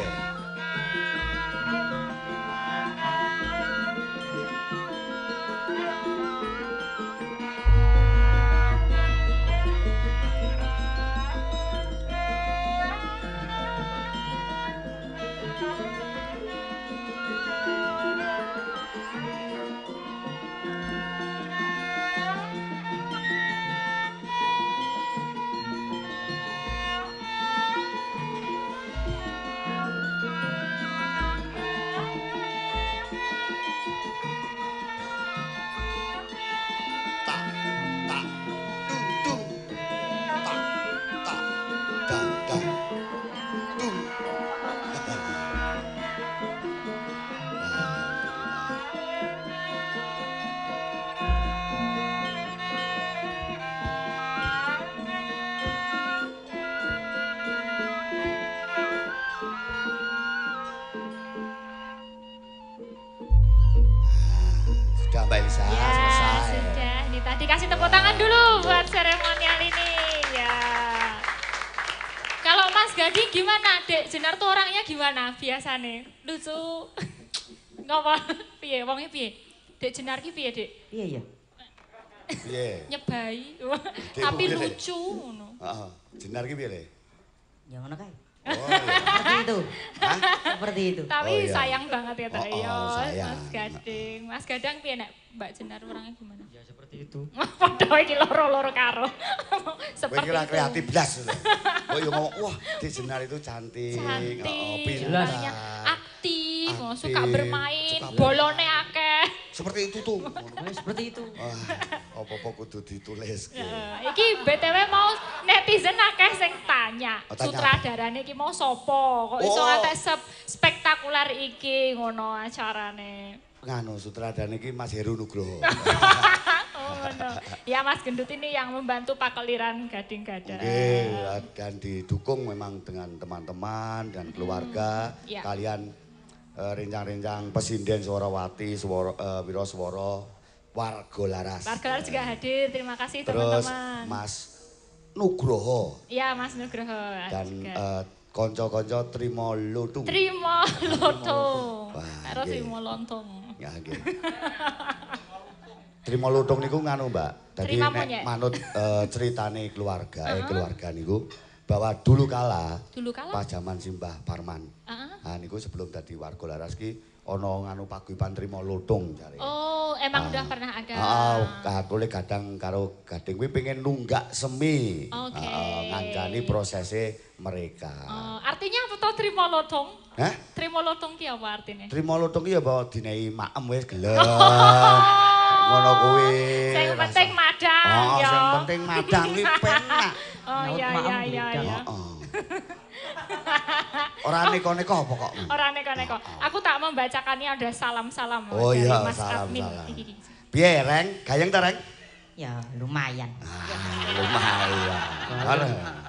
Bisa Ya, selesai. sudah. Ini tadi kasih tepuk tangan dulu buat seremonial ini. Ya. Kalau Mas Gading gimana, Dek? Jenar tuh orangnya gimana biasanya? Lucu. Ngapa? Piye? Wongnya piye? Dek Jenar ki piye, Dek? Iya ya. Piye? Nyebai. Dek, Tapi piye, Dek? lucu ngono. Heeh. Jenar ki piye, Le? Ya ngono kae. Oh iya. Seperti itu. Hah? Seperti itu. Tapi Oh, iya. sayang banget ya, Teh. Oh, Ya, sayang. Mas Gading. Mas Gadang piye nek Mbak Jenar orangnya gimana? Ya seperti itu. Padha iki loro-loro karo. Kowe Seperti kira itu. kreatif blas. Kowe yo ngomong, wah, Dik Jenar itu cantik. Cantik, pintar. orangnya aktif, Aktif, suka bermain, suka bolone akeh. Seperti itu tuh. Seperti itu. Wah, apa-apa kudu ditulis. Iki BTW mau netizen akeh sing tanya, Oh, tanya sutradarane iki mau sopo? Kok iso Oh. ngantek spektakuler iki ngono acarane. Nganu sutradara iki Mas Heru Nugroho. Oh, ngono. Ya Mas Gendut ini yang membantu pakeliran Gading Gada. Oke, dan didukung memang dengan teman-teman dan keluarga. Iya. Kalian rencang-rencang Pesinden Suwarawati, Wiro Swara, Warga Laras. Warga Laras juga hadir, terima kasih Terus teman-teman. Mas Nugroho Iya Mas Nugroho dan juga. konco-konco Trimo Lutung. Trimo Lontong. Wah, Karo nggih. Trimo Lontong. Ya nggih. Trimo Lutung niku nganu, Mbak. Dadi Trima nek monyet. manut ceritane keluarga niku bahwa dulu kala Dulu kala? pas zaman Simbah Parman. Heeh. Nah niku sebelum dadi warga Laras ki ana nganu paguyuban Trimo Lutung jare. Oh, emang udah pernah ada. Katole kadang karo Gading kuwi pengen nunggak semi. Oke. Ngancani prosese mereka. Oh, artinya apa toh Trimo Lotong? Hah? Trimo Lotong ki apa artinya? Trimo Lutung ki ya bawa dinehi maem wis gelem. Ngono kuwi. Sing penting madang Oh, ya. sing penting madang kuwi penak. Oh Nyaut iya maem iya iya beda. iya. Heeh. Ora neko-neko apa kok? Ora neko-neko. Aku tak membacakannya ada salam-salam Oh dari iya, Mas Admin. salam-salam. Iki. Piye, Reng? Gayeng ta, Reng? Ya lumayan. Lumayan. Ora.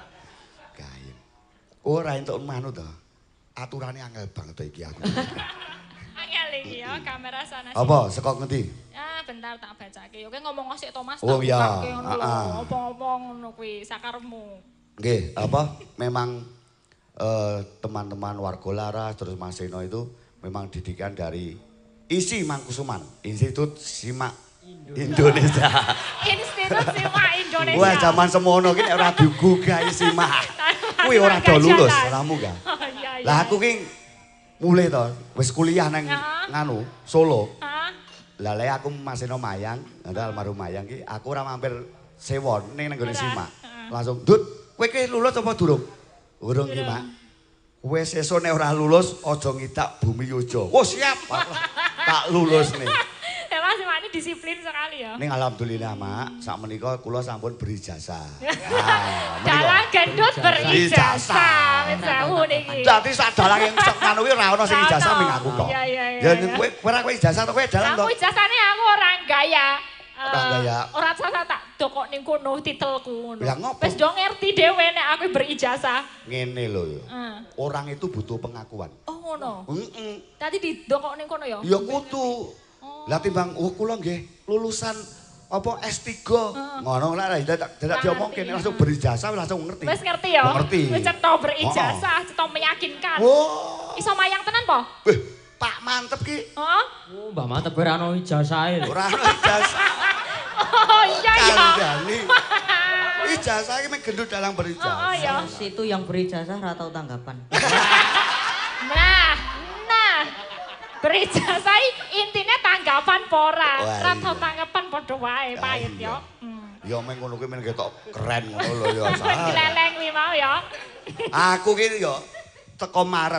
Gayeng. Ora entuk manut to. Aturane angel banget to iki aku. Angel iki ya kamera sana sini. Apa saka ngendi? Ah, bentar tak bacake. Yo ngomong sik Thomas Oh, tak iya. bukake ngono lho. Ah, ah. Apa-apa ngono kuwi sakarmu. Nggih, apa memang teman-teman warga Laras terus Mas Seno itu memang didikan dari ISI Mangkusuman, Institut Simak Indonesia. Institut Simak Indonesia. Wah, zaman semono ki nek ora digugah Simak. Kuwi ora do lulus, ora munggah. Oh iya iya. Lah aku ki mulai to, wis kuliah nang Ya. nganu Solo. Hah? Lah lek aku Mas Seno Mayang, almarhum Mayang ki aku ora mampir sewon ning nggone Ora. Simak. Heeh. Langsung, "Dut, kowe ki lulus apa durung?" "Urung ki, Mak." "Wis sesuk nek ora lulus aja ngidak Bumi Yojo." "Oh, siap." Tak lulus nih. Ya Mas Simak ini disiplin sekali ya. Ning alhamdulillah, Mak, sak menika kula sampun berijazah. Dalang gendut berijazah. Wis sewu niki. Dadi sak dalang yang sak anu kuwi ora ono sing Ora ijazah ono. ming aku kok. Iya, iya, Ya iya. kowe ora kowe ijazah to kowe dalang to. Aku ijazahnya aku orang gaya. Orang gaya. Ora sasa tak dokok ning kono titelku ngono. Lah, ngopo? Wis do ngerti dhewe nek aku berijazah. Ngene lho ya. Heeh. Orang itu butuh pengakuan. Oh ngono. Heeh. Tadi didokok ning kono ya? Ya kudu. Lah timbang kula nggih lulusan apa S3. Ngono lah dadak diomongke ngerti, langsung berijazah langsung ngerti. Wis ngerti ya? Oh, ngerti. Wis cetha berijazah, cetha meyakinkan. Oh. Iso mayang tenan po? Wih, Pak mantep ki. Heeh. Oh, Mbak Mantep ora ono ijazahe lho. Ora ono ijazah. Oh iya ya. Kandhani. Ijazah iki mek gendut dalang Oh berijazah. ya. Situ yang berijazah ora tau tanggapan. Nah, berijazah intinya tanggapan pora. Wah, Ora iya. tau tanggapan padha wae Ya, pahit iya. yo. Ya men ngono kuwi men ketok keren ngono lho ya. salah. Dileleng kuwi mau ya. Aku ki ya teko Maret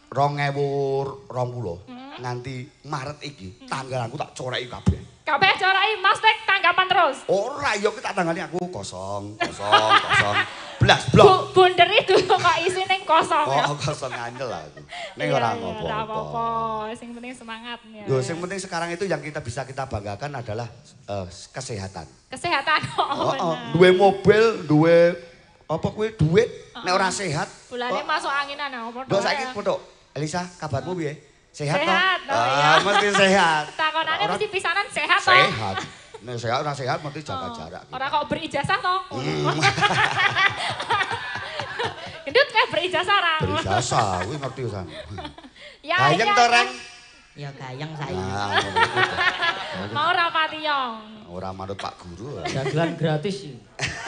2020 nganti Maret iki tanggal aku tak coreki kabeh. Kabeh corai Mas Tek tanggapan terus. Ora ya ki tak tanggani aku kosong, blas blok. Bunder itu kok isi ning kosong ya. Oh, kosong ngandel aku. Ning Iya, ora iya, ngopo. ora apa-apa. Sing penting semangat ya. Yo sing penting sekarang itu yang kita bisa kita banggakan adalah kesehatan. Kesehatan kok. Heeh, duwe mobil, duwe apa kuwi duit nek ora sehat. Bulane masuk anginan apa Ndok saiki foto. Elisa, kabarmu piye? Sehat toh? Sehat, oh iya. Mesti sehat. Takonannya mesti pisanan sehat toh? Sehat. Nek sehat ora sehat mesti jaga jarak. Ora kok berijazah toh? Gendut kayak berijazah ra. Berijazah, kuwi ngerti san. Ya, Gayeng to, Reng? Ya gayeng saiki. Nah, ngono iku to. Mau rapati yong. Ora manut Pak Guru. Dagelan gratis sih.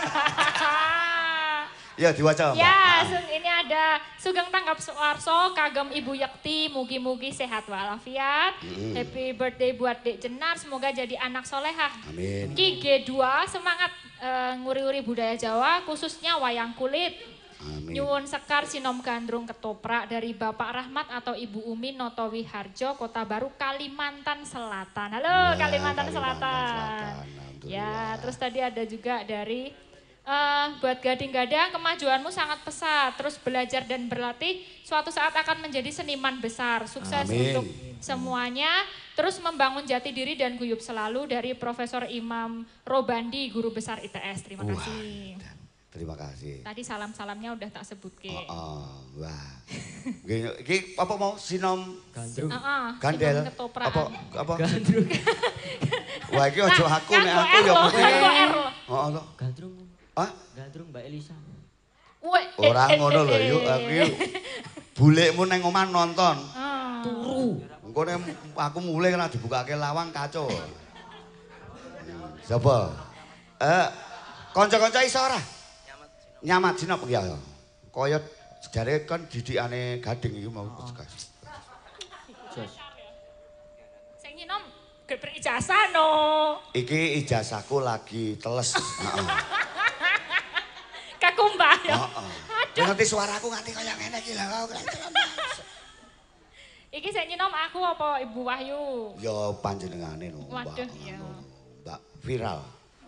Ya diwaca, Mbak. Ya, ini ada Sugeng Tanggap Suwarso, kagem Ibu Yekti, mugi-mugi sehat walafiat. Happy birthday buat Dek Jenar, semoga jadi anak solehah. Amin. Ki G2, semangat nguri-uri budaya Jawa, khususnya wayang kulit. Amin. Nyuwun sekar sinom gandrung ketoprak dari Bapak Rahmat atau Ibu Umi Noto Wiharjo, Kota Baru, Kalimantan Selatan. Halo, Ya, Kalimantan Selatan, Selatan. alhamdulillah. Ya, terus tadi ada juga dari buat gading-gadang, kemajuanmu sangat pesat. Terus belajar dan berlatih, suatu saat akan menjadi seniman besar. Sukses Amin. untuk semuanya. Terus membangun jati diri dan guyup selalu dari Profesor Imam Robandi, Guru Besar ITS. Terima kasih. Terima kasih. Tadi salam-salamnya udah tak sebut ke. Wah. Iki apa mau sinom Gandrung. gandel? Ketoprak. Apa? Gandrung. Wah, iki aja aku nek Nganggo aku ya R loh, mesti. nganggo R loh. Heeh to. Gandrung. Hah? Gandrung Mbak Elisa. Ora ngono lho, yuk aku yuk. Bulekmu nang omah nonton. Turu. Engko nek aku mulai kena dibukake lawang kacau. Sapa? Kanca-kanca iso ora? Nyamat sinop ya. Kaya jare kan didikane Gading iki mau gas. Jos. Sing nyinom gak berijazah no. Iki ijazahku lagi teles. Heeh. Kakumbah ya. Heeh. Ngerti suaraku nganti kaya ngene iki lho. Iki sing nyinom aku apa Ibu Wahyu? Ya panjenengane no. Waduh, ya. Mbak viral.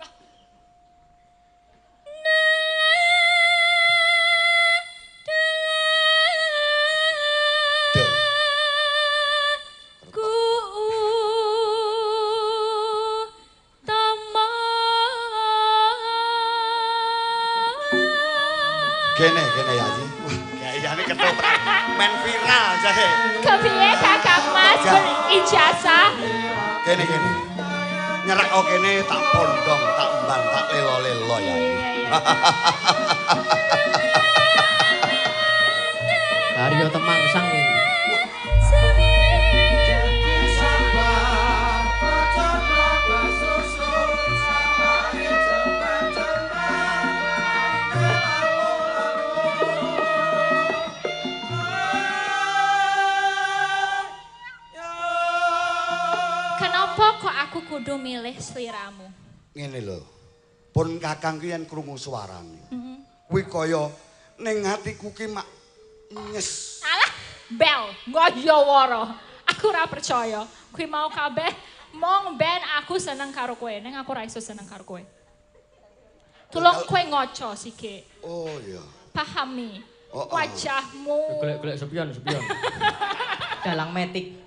Kene ya Ji. Wah, gayane ketoprak. Men viral jahe. Kepiye Kakak Mas berijazah? Kene. Nyerak kene tak pondong, tak emban, tak lelo-lelo ya. Karyo Temangsang ini. Kenapa kok aku kudu milih sliramu? Ngene lho. Pun Kakang ki yen krungu suarane. Kuwi kaya ning atiku ki mak nyes. Alah, bel, ngoyoworo. Aku ora percaya. Kuwi mau kabeh mong ben aku seneng karo kowe, ning aku ora iso seneng karo kowe. Tulung kowe ngoco sike. Oh iya. Pahami Oh. wajahmu. Golek-golek sepion. Dalang metik.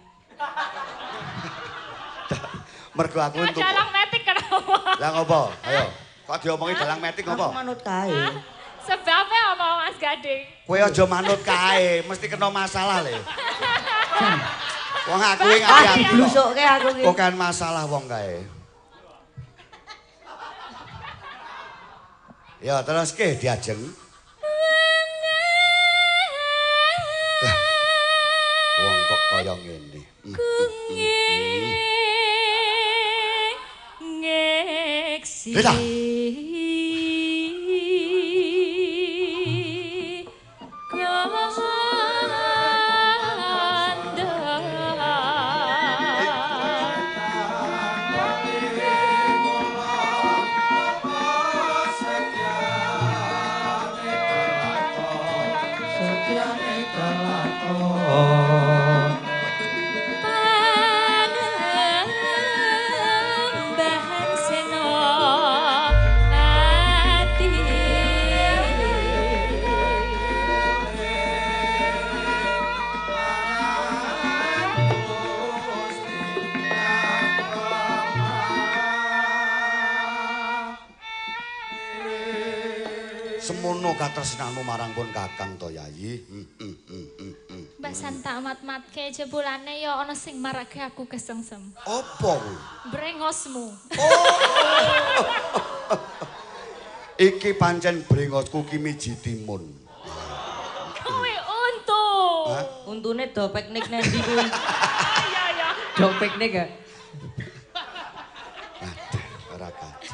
Mergo aku entuk. Dalang metik kenapa? Lah ngopo? Ayo. Kok diomongi dalang metik Aku ngopo? manut kae. Sebabnya apa Mas Gading? Kowe aja manut kae, mesti kena masalah le. Wong aku iki Ah, ngati aku. blusukke aku ki. Kok kan masalah wong kae. Ya terus ke diajeng. Wong kok kaya ngene. Ngeksi. Lha. Pangembahan seno ati. Semono katresnanmu marang pun Kakang to Yayi. Mbah Pasan tak mat-matke jebulane ya ana sing marake aku kesengsem. Apa kuwi? Brengosmu. Iki pancen brengosku ki miji timun. Kowe untu. Hah? Untune do piknik nendi kuwi? Iya ya. Do piknik gak? Aduh, ora kaji.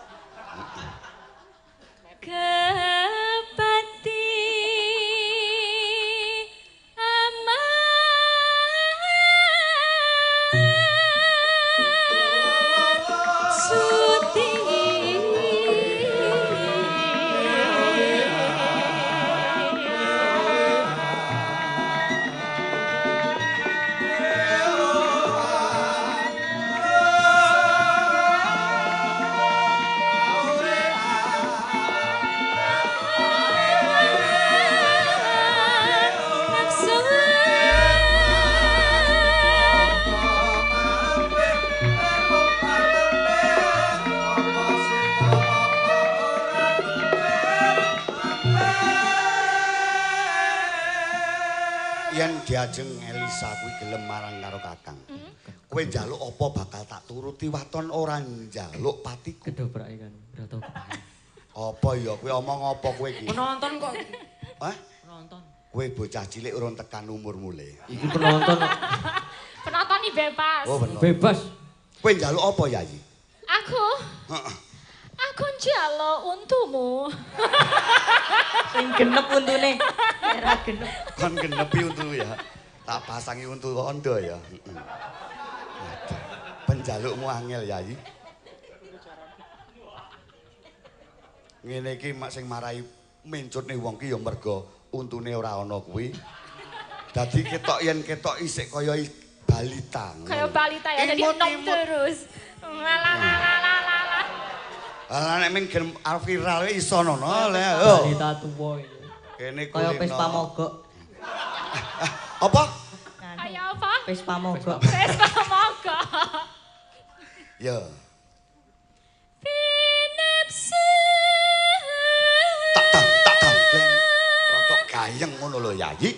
Kepati Yen diajeng Elisa kuwi gelem marang karo Kakang. Kowe njaluk apa bakal tak turuti waton ora njaluk patiku. Kedobrake kan, rada kepahin. Apa ya kowe omong apa kowe iki? Penonton kok. Hah? Penonton. Kowe bocah cilik urung tekan umur mule. Iki penonton. penonton ini bebas. Oh bener. Bebas. Kowe njaluk apa Yayi? Aku aku njaluk untumu. Sing genep untune. Era genep. Kon genepi untu ya. Tak pasangi untu ondo ya. Aduh, penjalukmu angel Yayi. Ngene iki mak sing marai mencutne wong ki ya mergo untune ora ana kuwi. Dadi ketok yen ketok isik kaya balita. Kayak balita ya, jadi Imut, nom imut. terus. Lalalalalalala. Lah nek ming viral iso nono le. Yo. Balita tuwa iki. Kene Kaya kulino. Vespa mogok. Apa? Kayak apa? Vespa mogok. Vespa mogok. Ya. Pinepsu. Tak gambleng. Rotok gayeng ngono lho Yayi.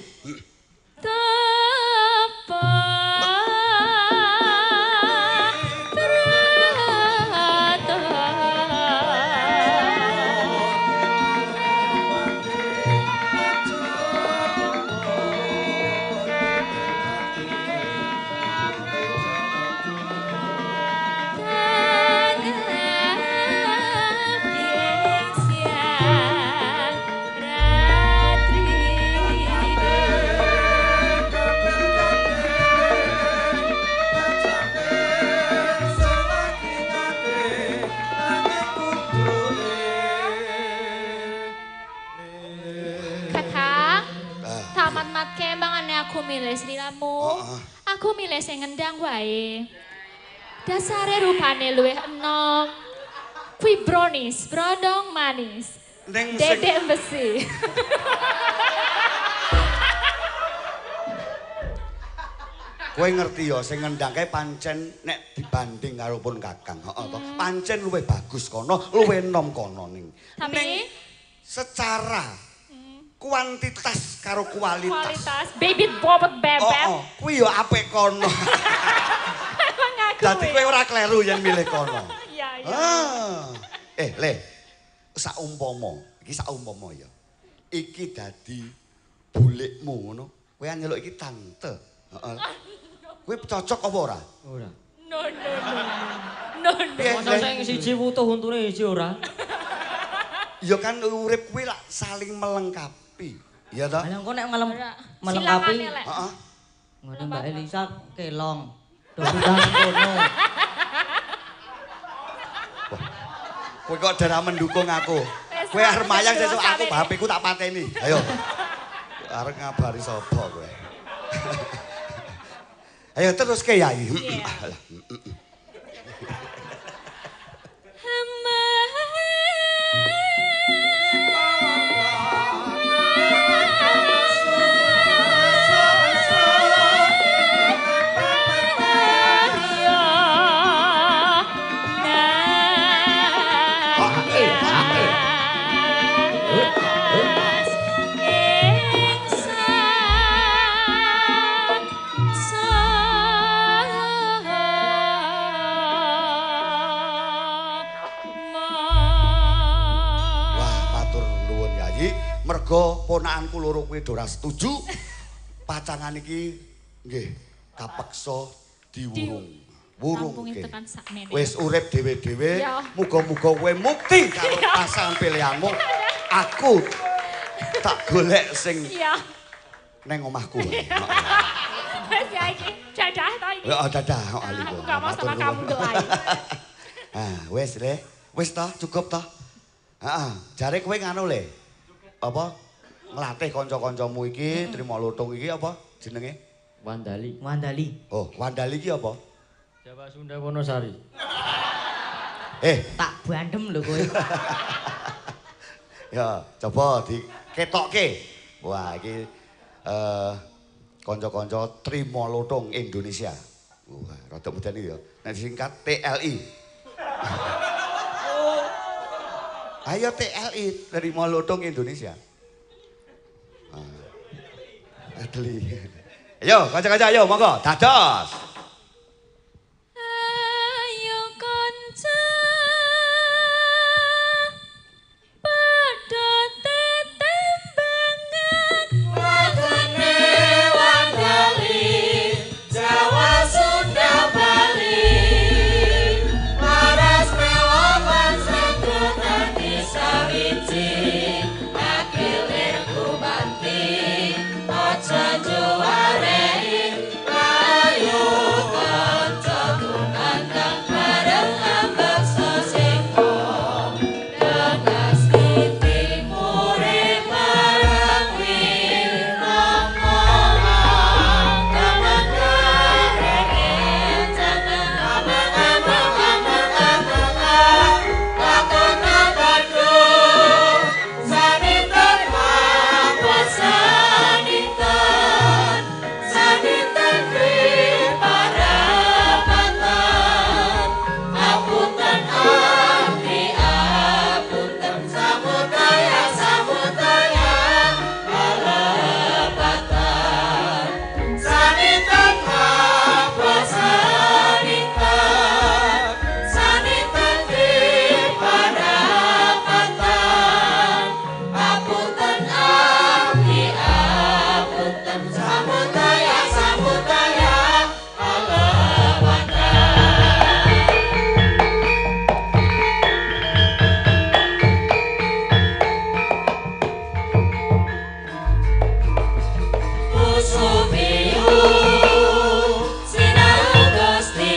Tapa. Aku milih sliramu. Aku milih sing ngendang wae. Dasare rupane luwih enom. Kuwi brownies, brondong manis. Ning Dedek besi. kowe ngerti ya sing ngendangke pancen nek dibanding karo pun Kakang, heeh to. Pancen luwih bagus kono, luwih enom kono ning. Tapi Ning secara kuantitas karo kualitas. baby bobot bebek. Oh, kuwi yo apik kono. Emang aku. Dadi kowe ora kleru yen milih kono. Iya, iya. Le. Iki saumpama ya. Iki dadi bulikmu ngono. Kowe nyeluk iki tante. Heeh. Kowe cocok apa ora? Ora. No. No. Masa sing siji wutuh untune siji ora. Ya kan urip kuwi lak saling melengkapi. Iya toh? Lah engko nek melengkapi. Silangane, Lek. Heeh. Ngono Mbak Elisa kelong. Do bidang kono. Kowe kok dara mendukung aku. Wes, Kowe arep mayang wes, sesuk wes, aku wes. bapeku tak pateni. Ayo. Arep ngabari sapa kowe? Ayo terus ke Yayi. merga ponakanku loro kuwi ora setuju. Pacangan iki nggih kapeksa diwurung. Wurung Rampungi iki. tekan sakmene. Wis urip dhewe-dhewe, Ya. muga-muga kowe mukti karo pasangan pilihanmu. Aku tak golek sing Iya. neng omahku. wae. Wes ya iki. Dadah to iki. Ya dadah kok ali. Aku gak mau sama kamu gelai. Wis le. Wis ta, cukup ta? Heeh, jare kowe nganu le. Apa? Nglatih kanca-kancamu iki trima lutung iki apa jenenge? Wandali. Wandali. Oh, Wandali iki apa? Jawa Sunda Wonosari. Tak bandem lho kowe. Ya, coba diketokke. Wah, iki kanca-kanca trima lutung Indonesia. Wah, rada medeni ya. Nek disingkat TLI. Ayo TLI, trima lutung Indonesia. Adli. Ayo, kanca-kanca ayo monggo, dados. Ayo kanca padha tetembangan wagone Wandali Jawa Sunda Bali paras mewawan sedotan disawiji akilir kubanti aja juarei ayo kanca tumandang bareng ambek sesingkong dengan siti mure marang wirama kamangareng jangan lakon abadu sanitan apa sanitan sanitan parapatan apunten abdi apunten samudaya samudaya palepatan sanitan apa sanitan sanitan parapatan apunten abdi apunten samudaya samudaya palepatan. Usubiyu sinau Gusti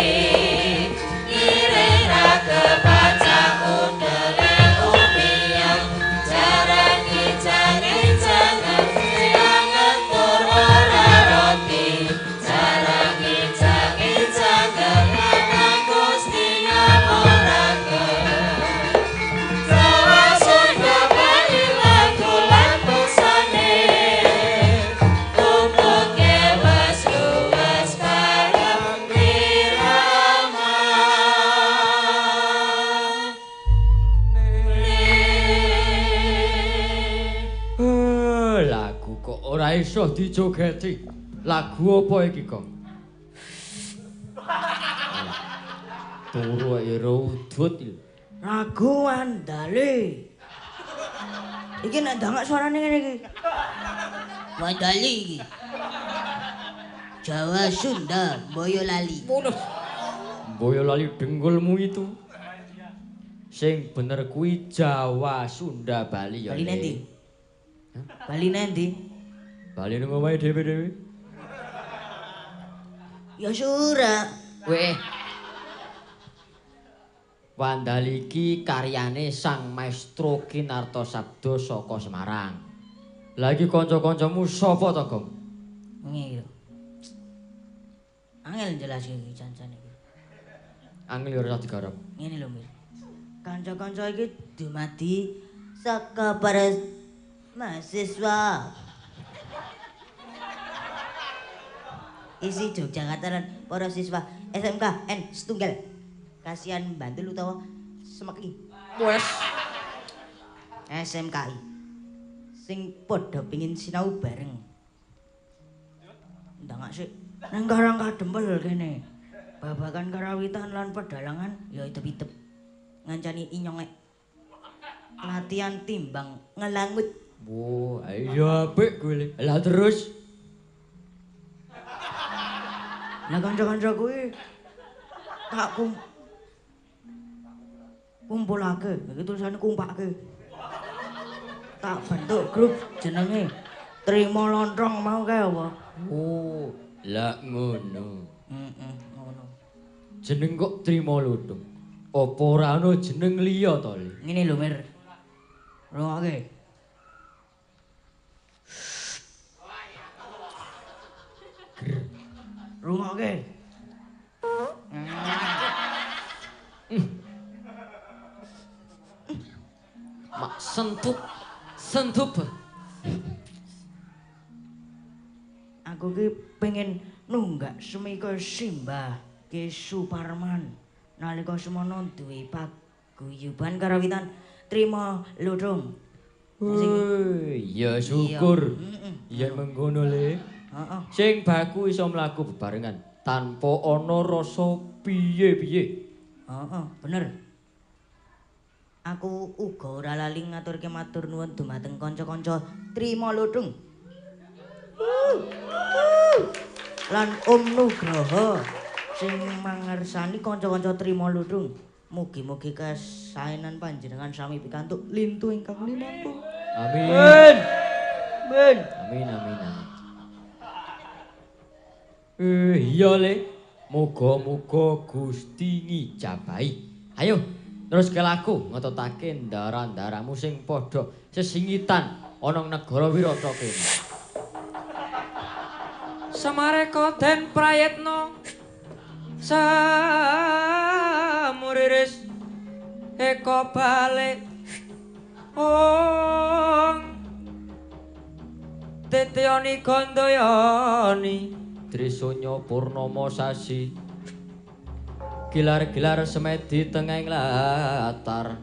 irera kebaca undele upiang jarangi jangan siangan tur ora roti jarangi jangan Gusti ngamoraken Jawa Sunda Bali lagu-lagu busane tutuke wes luwes karang irama Lagu kok ora iso dijogeti. Lagu apa iki, Kong? Turu ero udut iki. Ragu Wandali. Iki nek ndangak suarane ngene iki. Wandali iki. Jawa Sunda Boyolali. Boyolali denggulmu itu. Sing bener kuwi Jawa Sunda Bali ya. Bali Le. nanti. Bali nanti. Bali nang omahe dhewe-dhewe. Ya sura. Weh. Wandali iki karyane Sang Maestro Kinarto Sabdo saka Semarang. Lagi kanca-kancamu sapa to, Gong? Ngene lho. Angel jelaske iki janjane iki. Angel ora digarap. Ngene lho, Mir. Kanca-kanca iki dumadi saka para mahasiswa. Isi Yogyakarta lan para siswa SMK N setunggal. Kasihan Bantul utawa Semeki. Wes. SMKI. Sing padha pengin sinau bareng. Ndangak sik nang Karang Kadempel kene. Babagan karawitan lan pedalangan ya itep-itep. Ngancani inyongek. Latihan timbang ngelangut. Oh, iya apik kuwi. Lah terus Lah kanca-kanca kuwi tak kumpulake, iki tulisane kumpake. Tak bentuk grup jenenge Trimo Lontong mau kae apa? oh, lah ngono. Ngono. Jeneng kok Trimo Lontong. Apa ora ana jeneng liya to, Le? Ngene lho, Mir. Rungokke. Rungokke. Mak sentup. Aku ki pengen nunggak semika Simbah Ki Suparman nalika semono duwe paguyuban karawitan Trimo Lontong. Ya syukur. Iya. Yen mengkono, Le. Heeh. Sing baku iso mlaku bebarengan tanpa ana rasa piye-piye. Heeh, bener. Aku uga ora lali ngaturke matur nuwun dumateng kanca-kanca Trimo Lontong. Lan Om Nugroho sing mangersani kanca-kanca Trimo Lontong. Mugi-mugi kasaenan panjenengan sami pikantuk lintu ingkang linampu. Amin. Men. Amin. Iya, Le. Muga-muga Gusti ngijabahi. Ayo, terus ke laku ngetutake ndara-ndaramu sing padha sesingitan ana negara Wirata kene. Samareka den prayetna samuriris eka balik Tetyani Gandayani Trisanya Purnama sasi Gilar-gilar semedi tengahing latar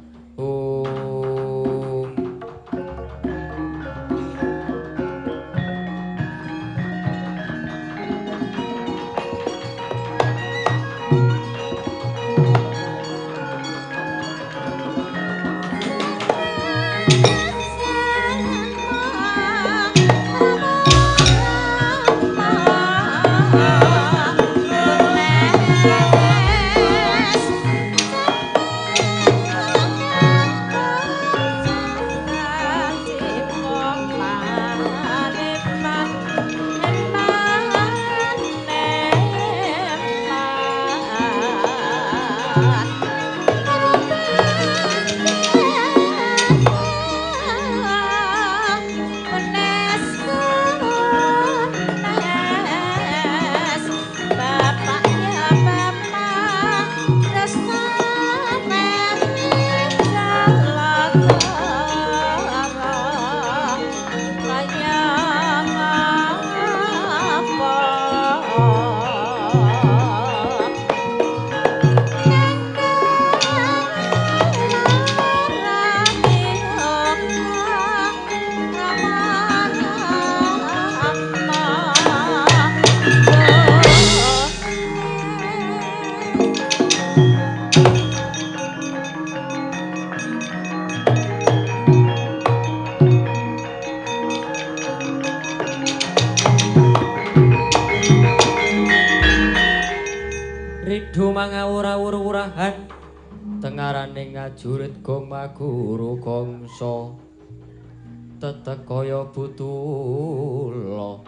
Ridho mangawur-awur-wurahan tengaraning ngajurit gomaguru gongso tetekaya butula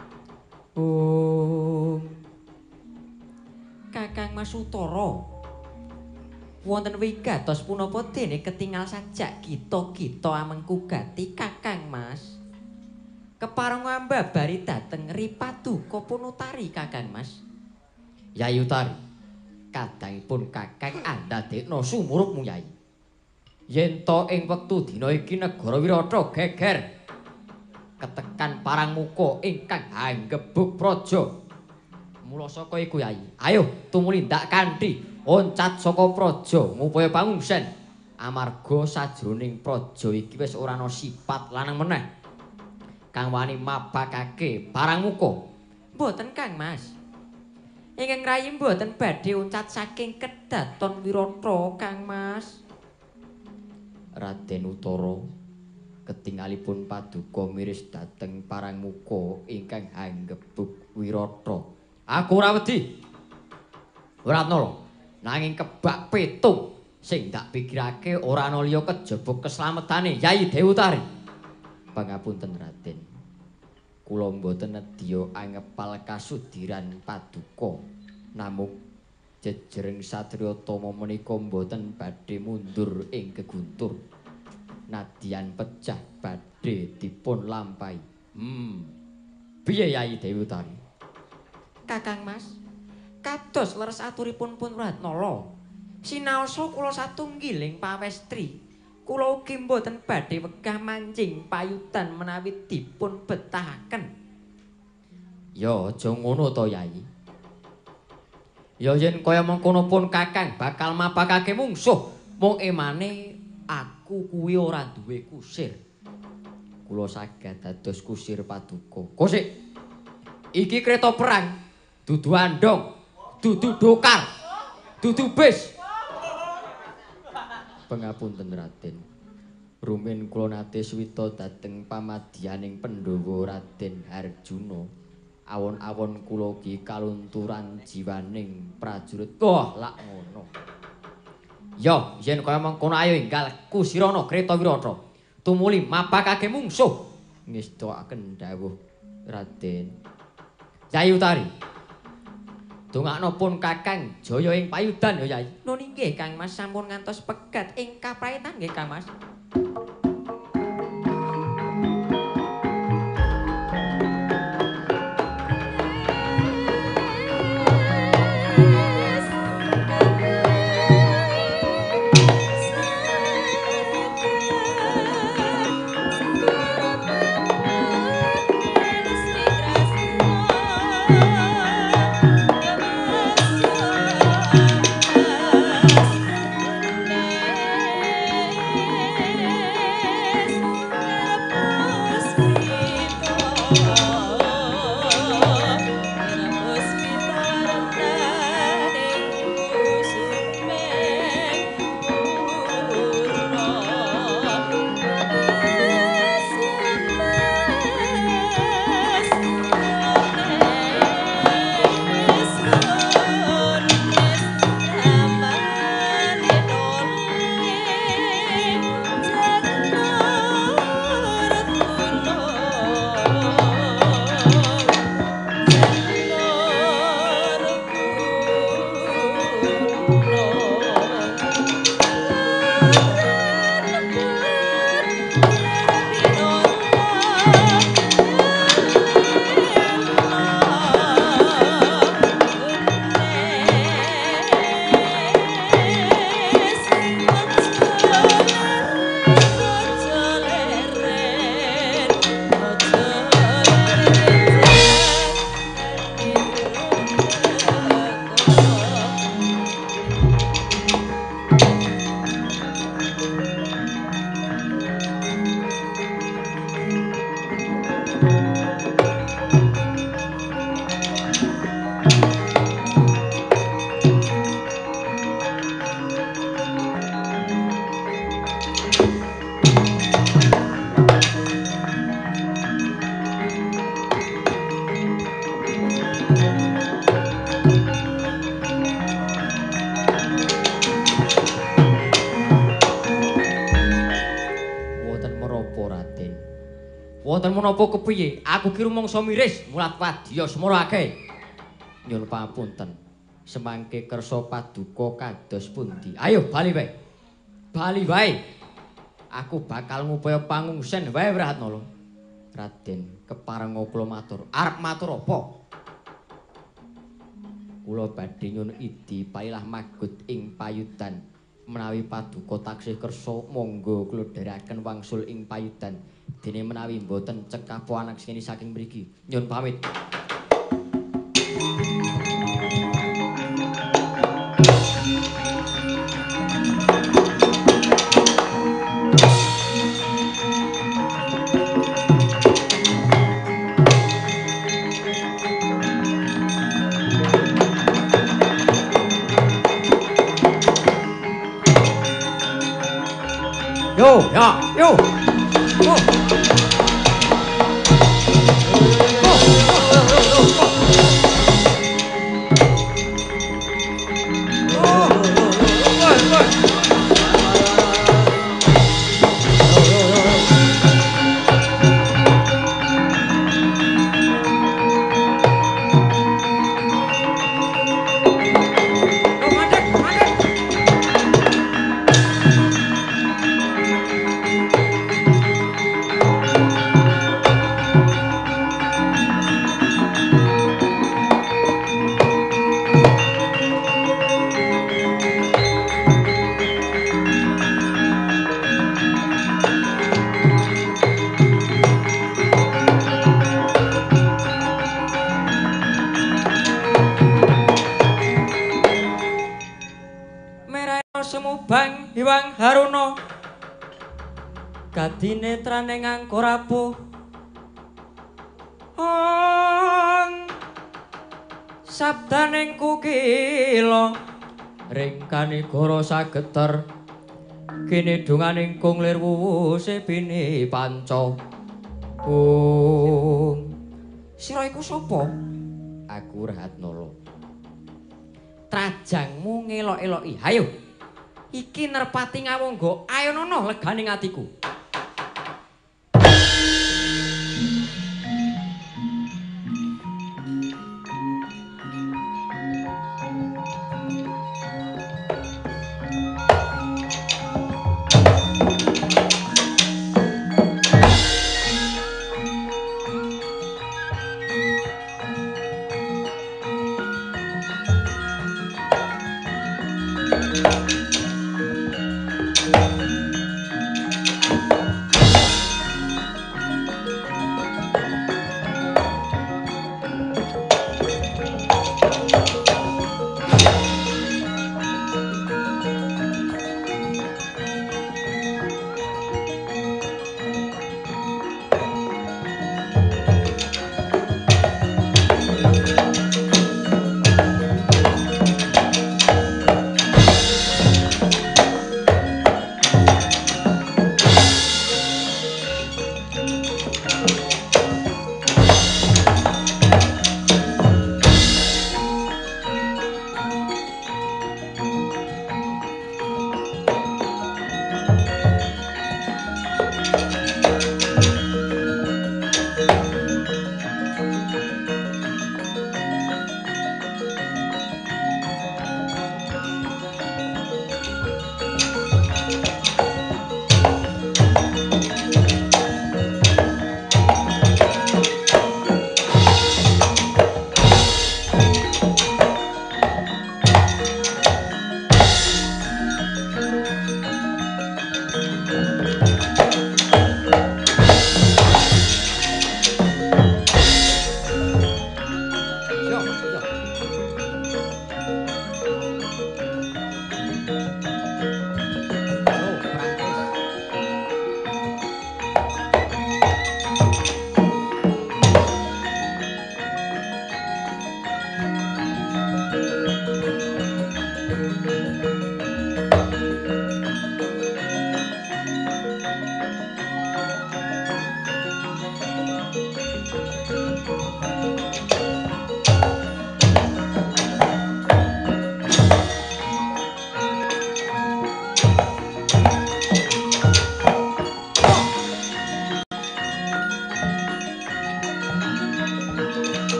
Kakang Mas Utara wonten wigatos punapa dene ketingal sajak kita amengku gati Kakang Mas kepareng ngambabari dhateng Ripaduka Punutari Kakang Mas Yayi Utari kadangipun Kakang andadekna sumurupmu Yayi yen to ing wektu dina iki negara Wirata geger ketekan parang muka ingkang anggebuk praja mula saka iku Yayi ayo tumulindak kanthi oncat saka praja ngupaya pangungsen amarga sajroning praja iki wis ora ana sipat lanang meneh kang wani mabakake parang muka mboten Kang Mas ingkang rayi mboten badhe oncat saking kedaton Wirata Kang Mas Raden Utara ketingalipun paduka miris dhateng parang muka ingkang hanggebuk Wirata. Aku ora wedi. Ratnala, nanging kebak petung sing dak pikirake ora ana liya kejaba keslametane Yayi Dewutari. Pangapunten Raden. Kula mboten nedya angepal kasudiran paduka. Namung jejering satriya tama menika mboten badhe mundur ing keguntur. Nadyan pecah badhe dipun lampahi. Piye Yayi Dewutari? Kakang Mas, kados leres aturipun pun Ratnala. Sinaosa kula satunggiling pawestri, kula ugi mboten badhe wegah mancing payutan menawi dipun betahaken. Ya aja ngono to Yayi. Ya yen kaya mengkono pun Kakang bakal mapakake mungsuh, mung emane aku kuwi ora duwe kusir. Kula saged dados kusir paduka. Kosik. Iki kereta perang, dudu andong, dudu dokar, dudu bis. Pangapunten Raden. Rumin kula nate swita dhateng pamadyaning Pandhawa Raden Harjuna. Awon-awon kula ugi kalunturan jiwaning prajurit. Wah, lak ngono. Ya, yen kaya mengkono ayo enggal kusirana Kretawirata. Tumuli mapakake mungsuh. Ngestakaken dawuh Raden. Yayi Utari. Dongakno pun Kakang jaya ing payudan ya Yayi. Nun inggih Kang Mas sampun ngantos pegat ing kapraetan nggih Kang Mas. Wonten menapa kepiye? Aku ki rumangsa miris mulat wadya semara akeh. Nyuwun pamunten. Semangke kersa paduka kados pundi? Ayo bali wae. Bali wae. Aku bakal ngupaya pangungsen wae Ratnala. Raden, keparenga kula matur. Arep matur apa? Kula badhe nyuwun idi pailah magut ing payudan. Menawi paduka taksih kersa monggo kula dherekaken wangsul ing payudan. Dene menawi mboten cekap anak sing saking mriki. Nyuwun pamit. Yo, ya, yo. Semubang Hyang Haruna kadinetrane nganggo rapuh sabdaning kukila ringkane goro sageter kene dunganing kunglir wuwuse bini panca sira iku sapa? Aku Ratnala. Trajangmu ngelok-eloki. Hayo. Iki nerpati ngawongga ayonono leganing atiku.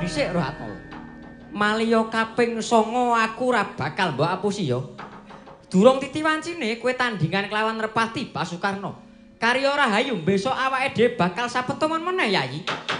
dhisik Ratna. Maliya kaping 9 aku ora bakal mbok apusi ya. Durung titiwancine kowe tandingan kelawan Repati Basukarna. Karya Rahayu besok awake dhewe bakal sapetomon meneh Yayi.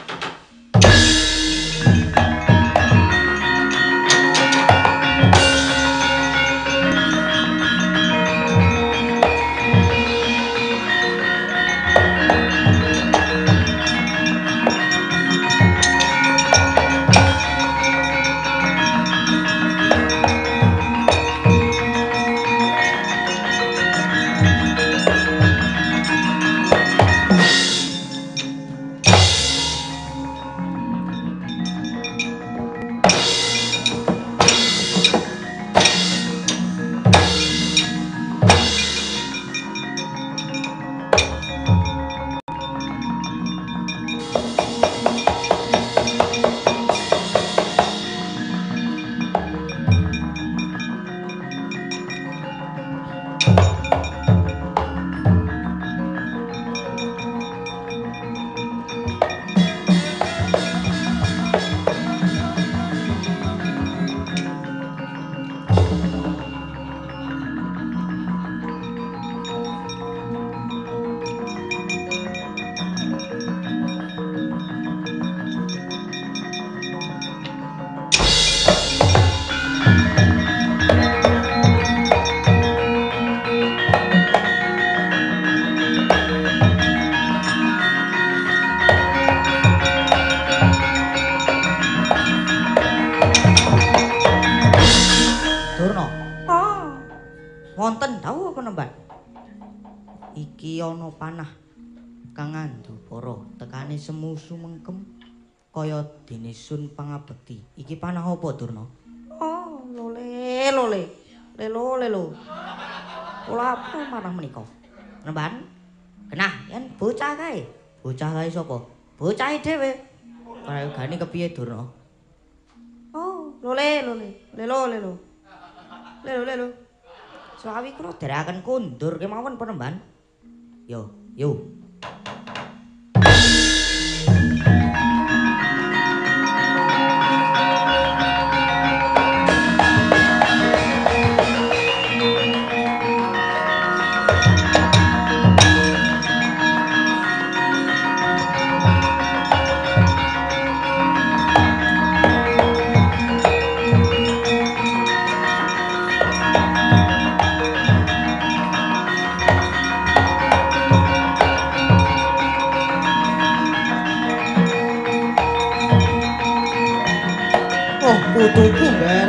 Panah kang ngandhu para tekane semu sumengkem kaya dene sun pangabekti. Iki panah apa Durna? Oh, lole. Lelo. Kula apa marang menika? Nemban. Genah yen bocah kae. Bocah kae sapa? Bocahe dhewe. Paragane kepiye Durna? Oh, lole. Lelo. Sawi kula derekaken kundur kemawon penemban. Yo. Putuku, Ger.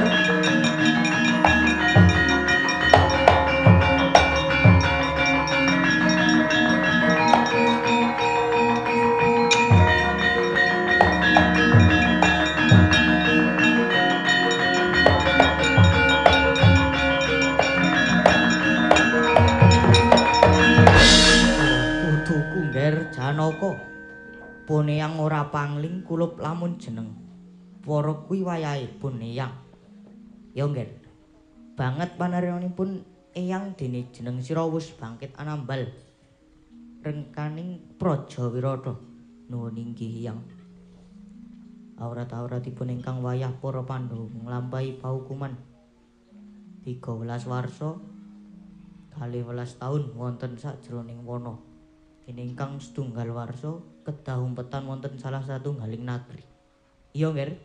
Putuku, Ger, Janaka. Pun eyang ora pangling kulup lamun jeneng. Para kuwi wayahe pun eyang. Ya nggih. Banget panaryanipun eyang dene jeneng sira wis bangkit anambal. Rengkaning Praja Wirata. Nuwun inggih eyang. Awrat-awratipun ingkang wayah para Pandhawa nglampahi paukuman 13 warsa 12 taun wonten sajroning wana. Dene ingkang setunggal warsa kedah umpetan wonten salah satunggaling nagri. Iya, Nger.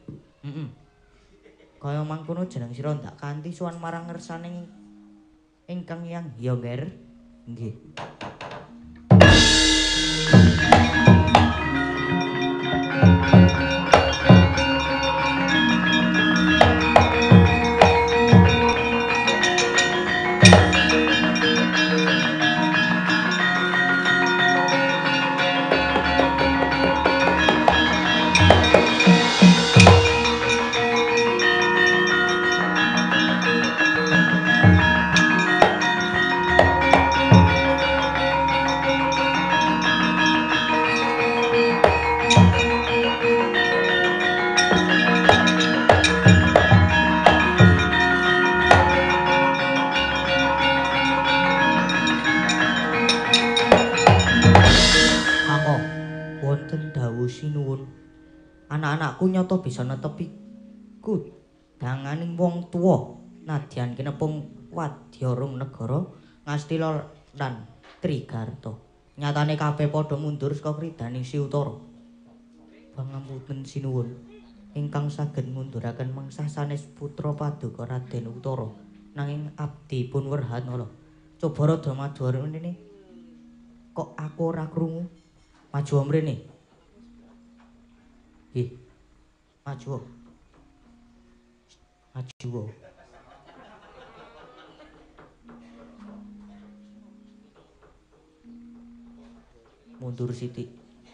Kaya mangkono jeneng sira ndak kanthi sowan marang ngersaning ingkang yang iya, Nger. Nggih. aku nyata bisa netepi kudanganing wong tuwa nadyan kinepung Wadyarum Negara Ngastina lan Trigarta. Nyatane kabeh padha mundur saka kridaning Si Utara. Pangapunten sinuwun ingkang saged ngunduraken mengsah sanes putra paduka Raden Utara nanging abdi pun Werhanala. Coba rada maju mrene. Kok aku ora krungu? Maju mrene. Ih. Maju. Maju. Mundur sithik.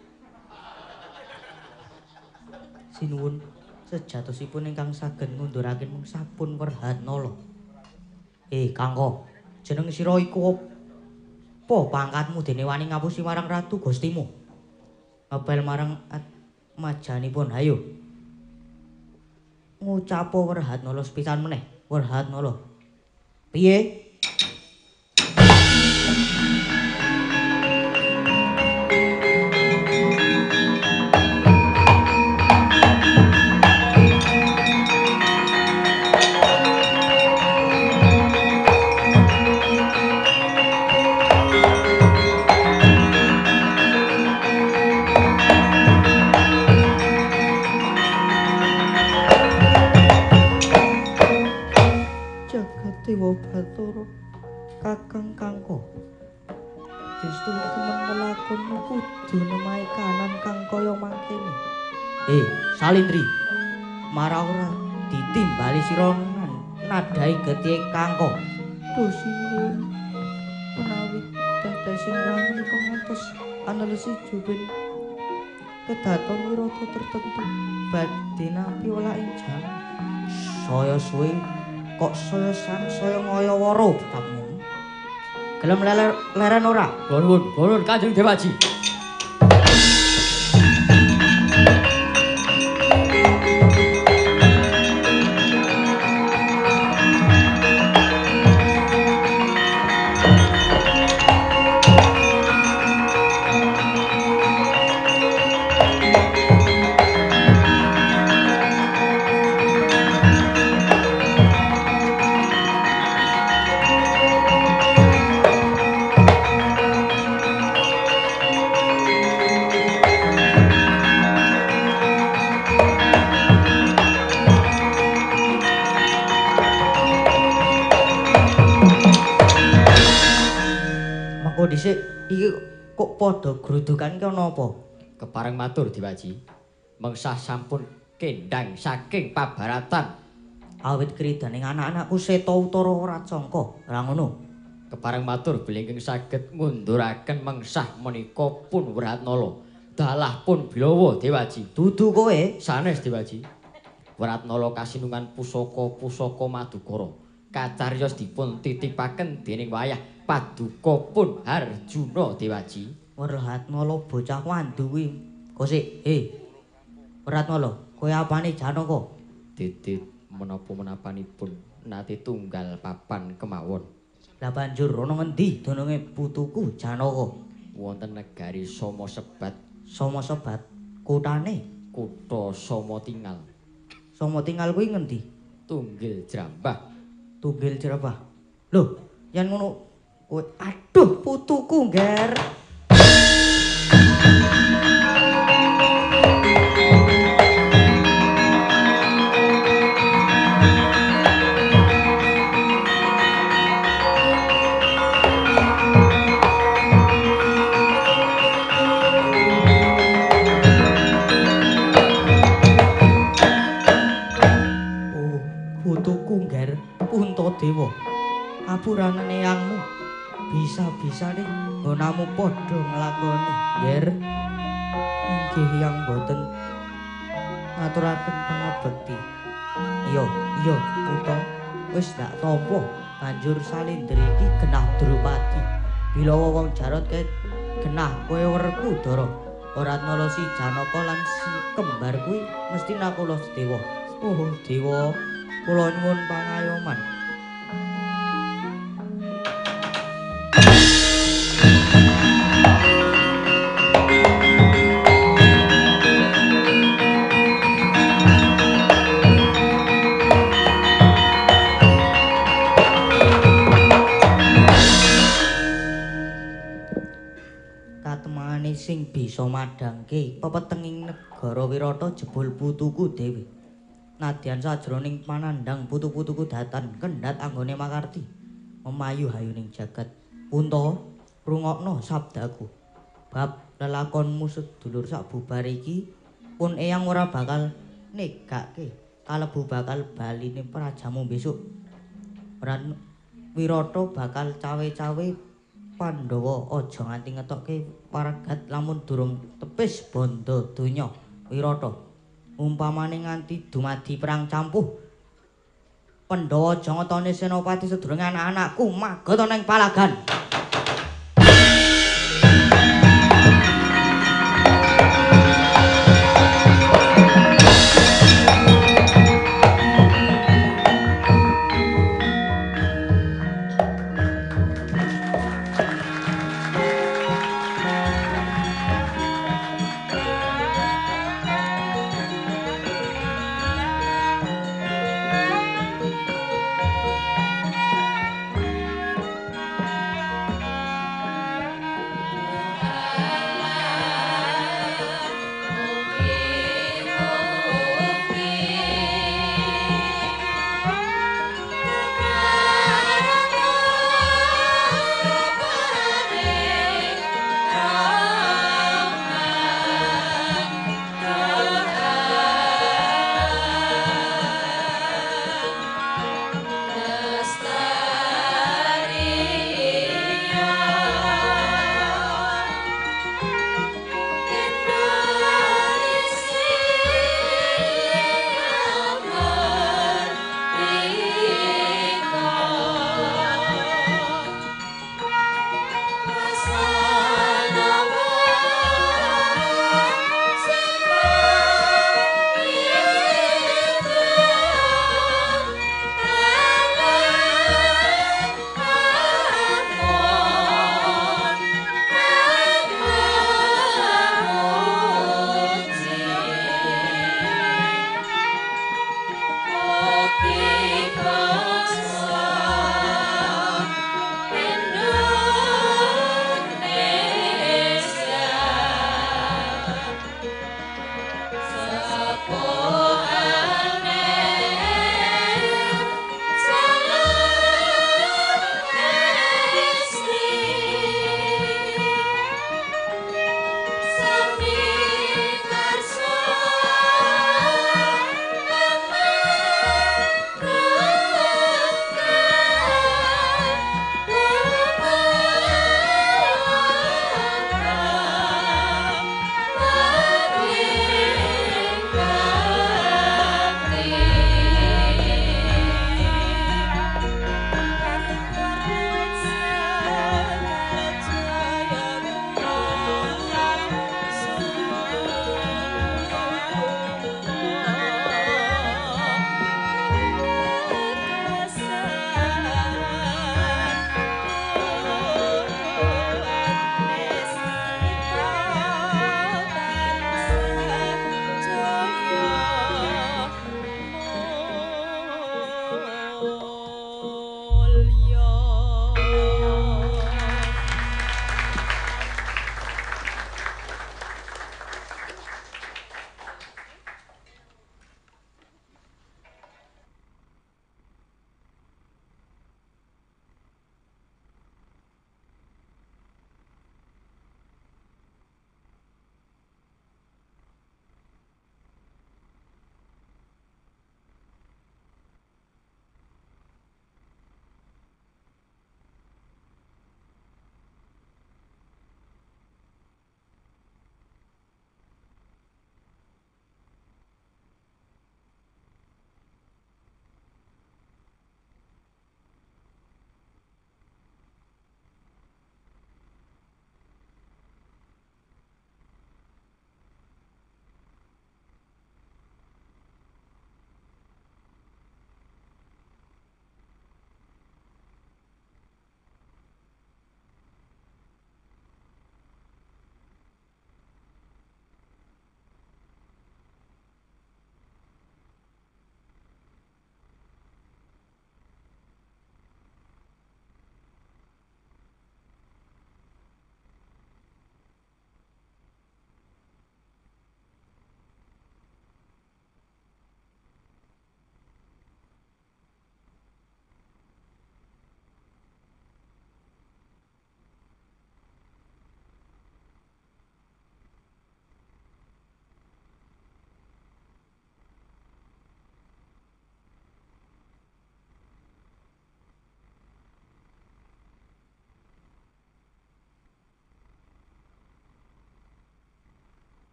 Sinuwun sejatosipun ingkang saged ngunduraken mengsah pun Werhanala. Kangka, jeneng sira iku apa pangkatmu dene wani ngapusi marang ratu Gustimu? Ngepel marang majanipun, hayo. Ngucapa Werhanala sepisan meneh, Werhanala. Piye? Dewa Bathara Kakang Kangka Destu temen lelakonmu kudu nemahe kanan kang kaya mangkene. Salindri, marah ora ditimbali sira nadai getih Kangka. Dosinuwun menawi dadasing rayi pangantos analisi juben kedaton wirata tertentu badhe nampi olah ing jam saya suwe kok saya sang saya ngaya wara kamu. Gelem leren ora? Nuwun Kanjeng Dewaji. Dhisik iki kok padha grudukan ki ana apa? Kepareng matur Dewaji. Mengsah sampun kendang saking pabaratan. Awit kridaning anak-anakku Seta Utara ora cangka. Ora ngono. Kepareng matur bilih saged ngunduraken mengsah menika pun Werhanala. Dalah pun Bilawa Dewaji. Dudu kowe sanes Dewaji. Werhanala kasinungan pusaka-pusaka Madukara. Kacariyos dipun titipaken dening wayah Paduka pun Harjuna Dewaji. Werhanala bocah wandu kuwi. Kosik, Werhanala, kowe apane Janaka? Didit menapa-menapanipun nate tunggal papan kemawon. Lah banjur ana ngendi dononge putuku Janaka? Wonten negari Soma Sebat. Soma Sebat, kutane? Kutha Soma Tingal. Soma Tingal kuwi ngendi? Tunggil Jrambah. Tunggil Jrambah. Lho, yen ngono kowe aduh putuku, Nger. Putuku, Nger, Puntadewa. Apuranane eyangmu. Bisa-bisane nggonamu padha nglakoni, Nger. Inggih yang boten ngaturaken pangabekti. Iya, Puta. Wis ndak tampa. Banjur salindri iki genah Drupadi. Bilawa wong Jarot ke genah kowe Werkudara. Ratnala si Janaka lan si kembar kuwi mesti nakula Dewa. Oh, Dewa, kula nyuwun pangayoman. bisa madhangke pepetenging negara Wirata jebul putuku dhewe. Nadyan sajroning panandhang putu-putuku datan kendhat anggone makarti memayu hayuning jagat. Punta rungokno sabdaku. Bab lelakonmu sedulur sabubare iki pun eyang ora bakal negake kalebu bakal baline prajamu besok. Ran Wirata bakal cawe-cawe Pandhawa aja nganti ngetokke paragat lamun durung tepis bondo donya Wirata. Umpamane nganti dumadi perang campuh Pandhawa aja ngetoni senopati sedurunge anak-anakku magot ana ing palagan.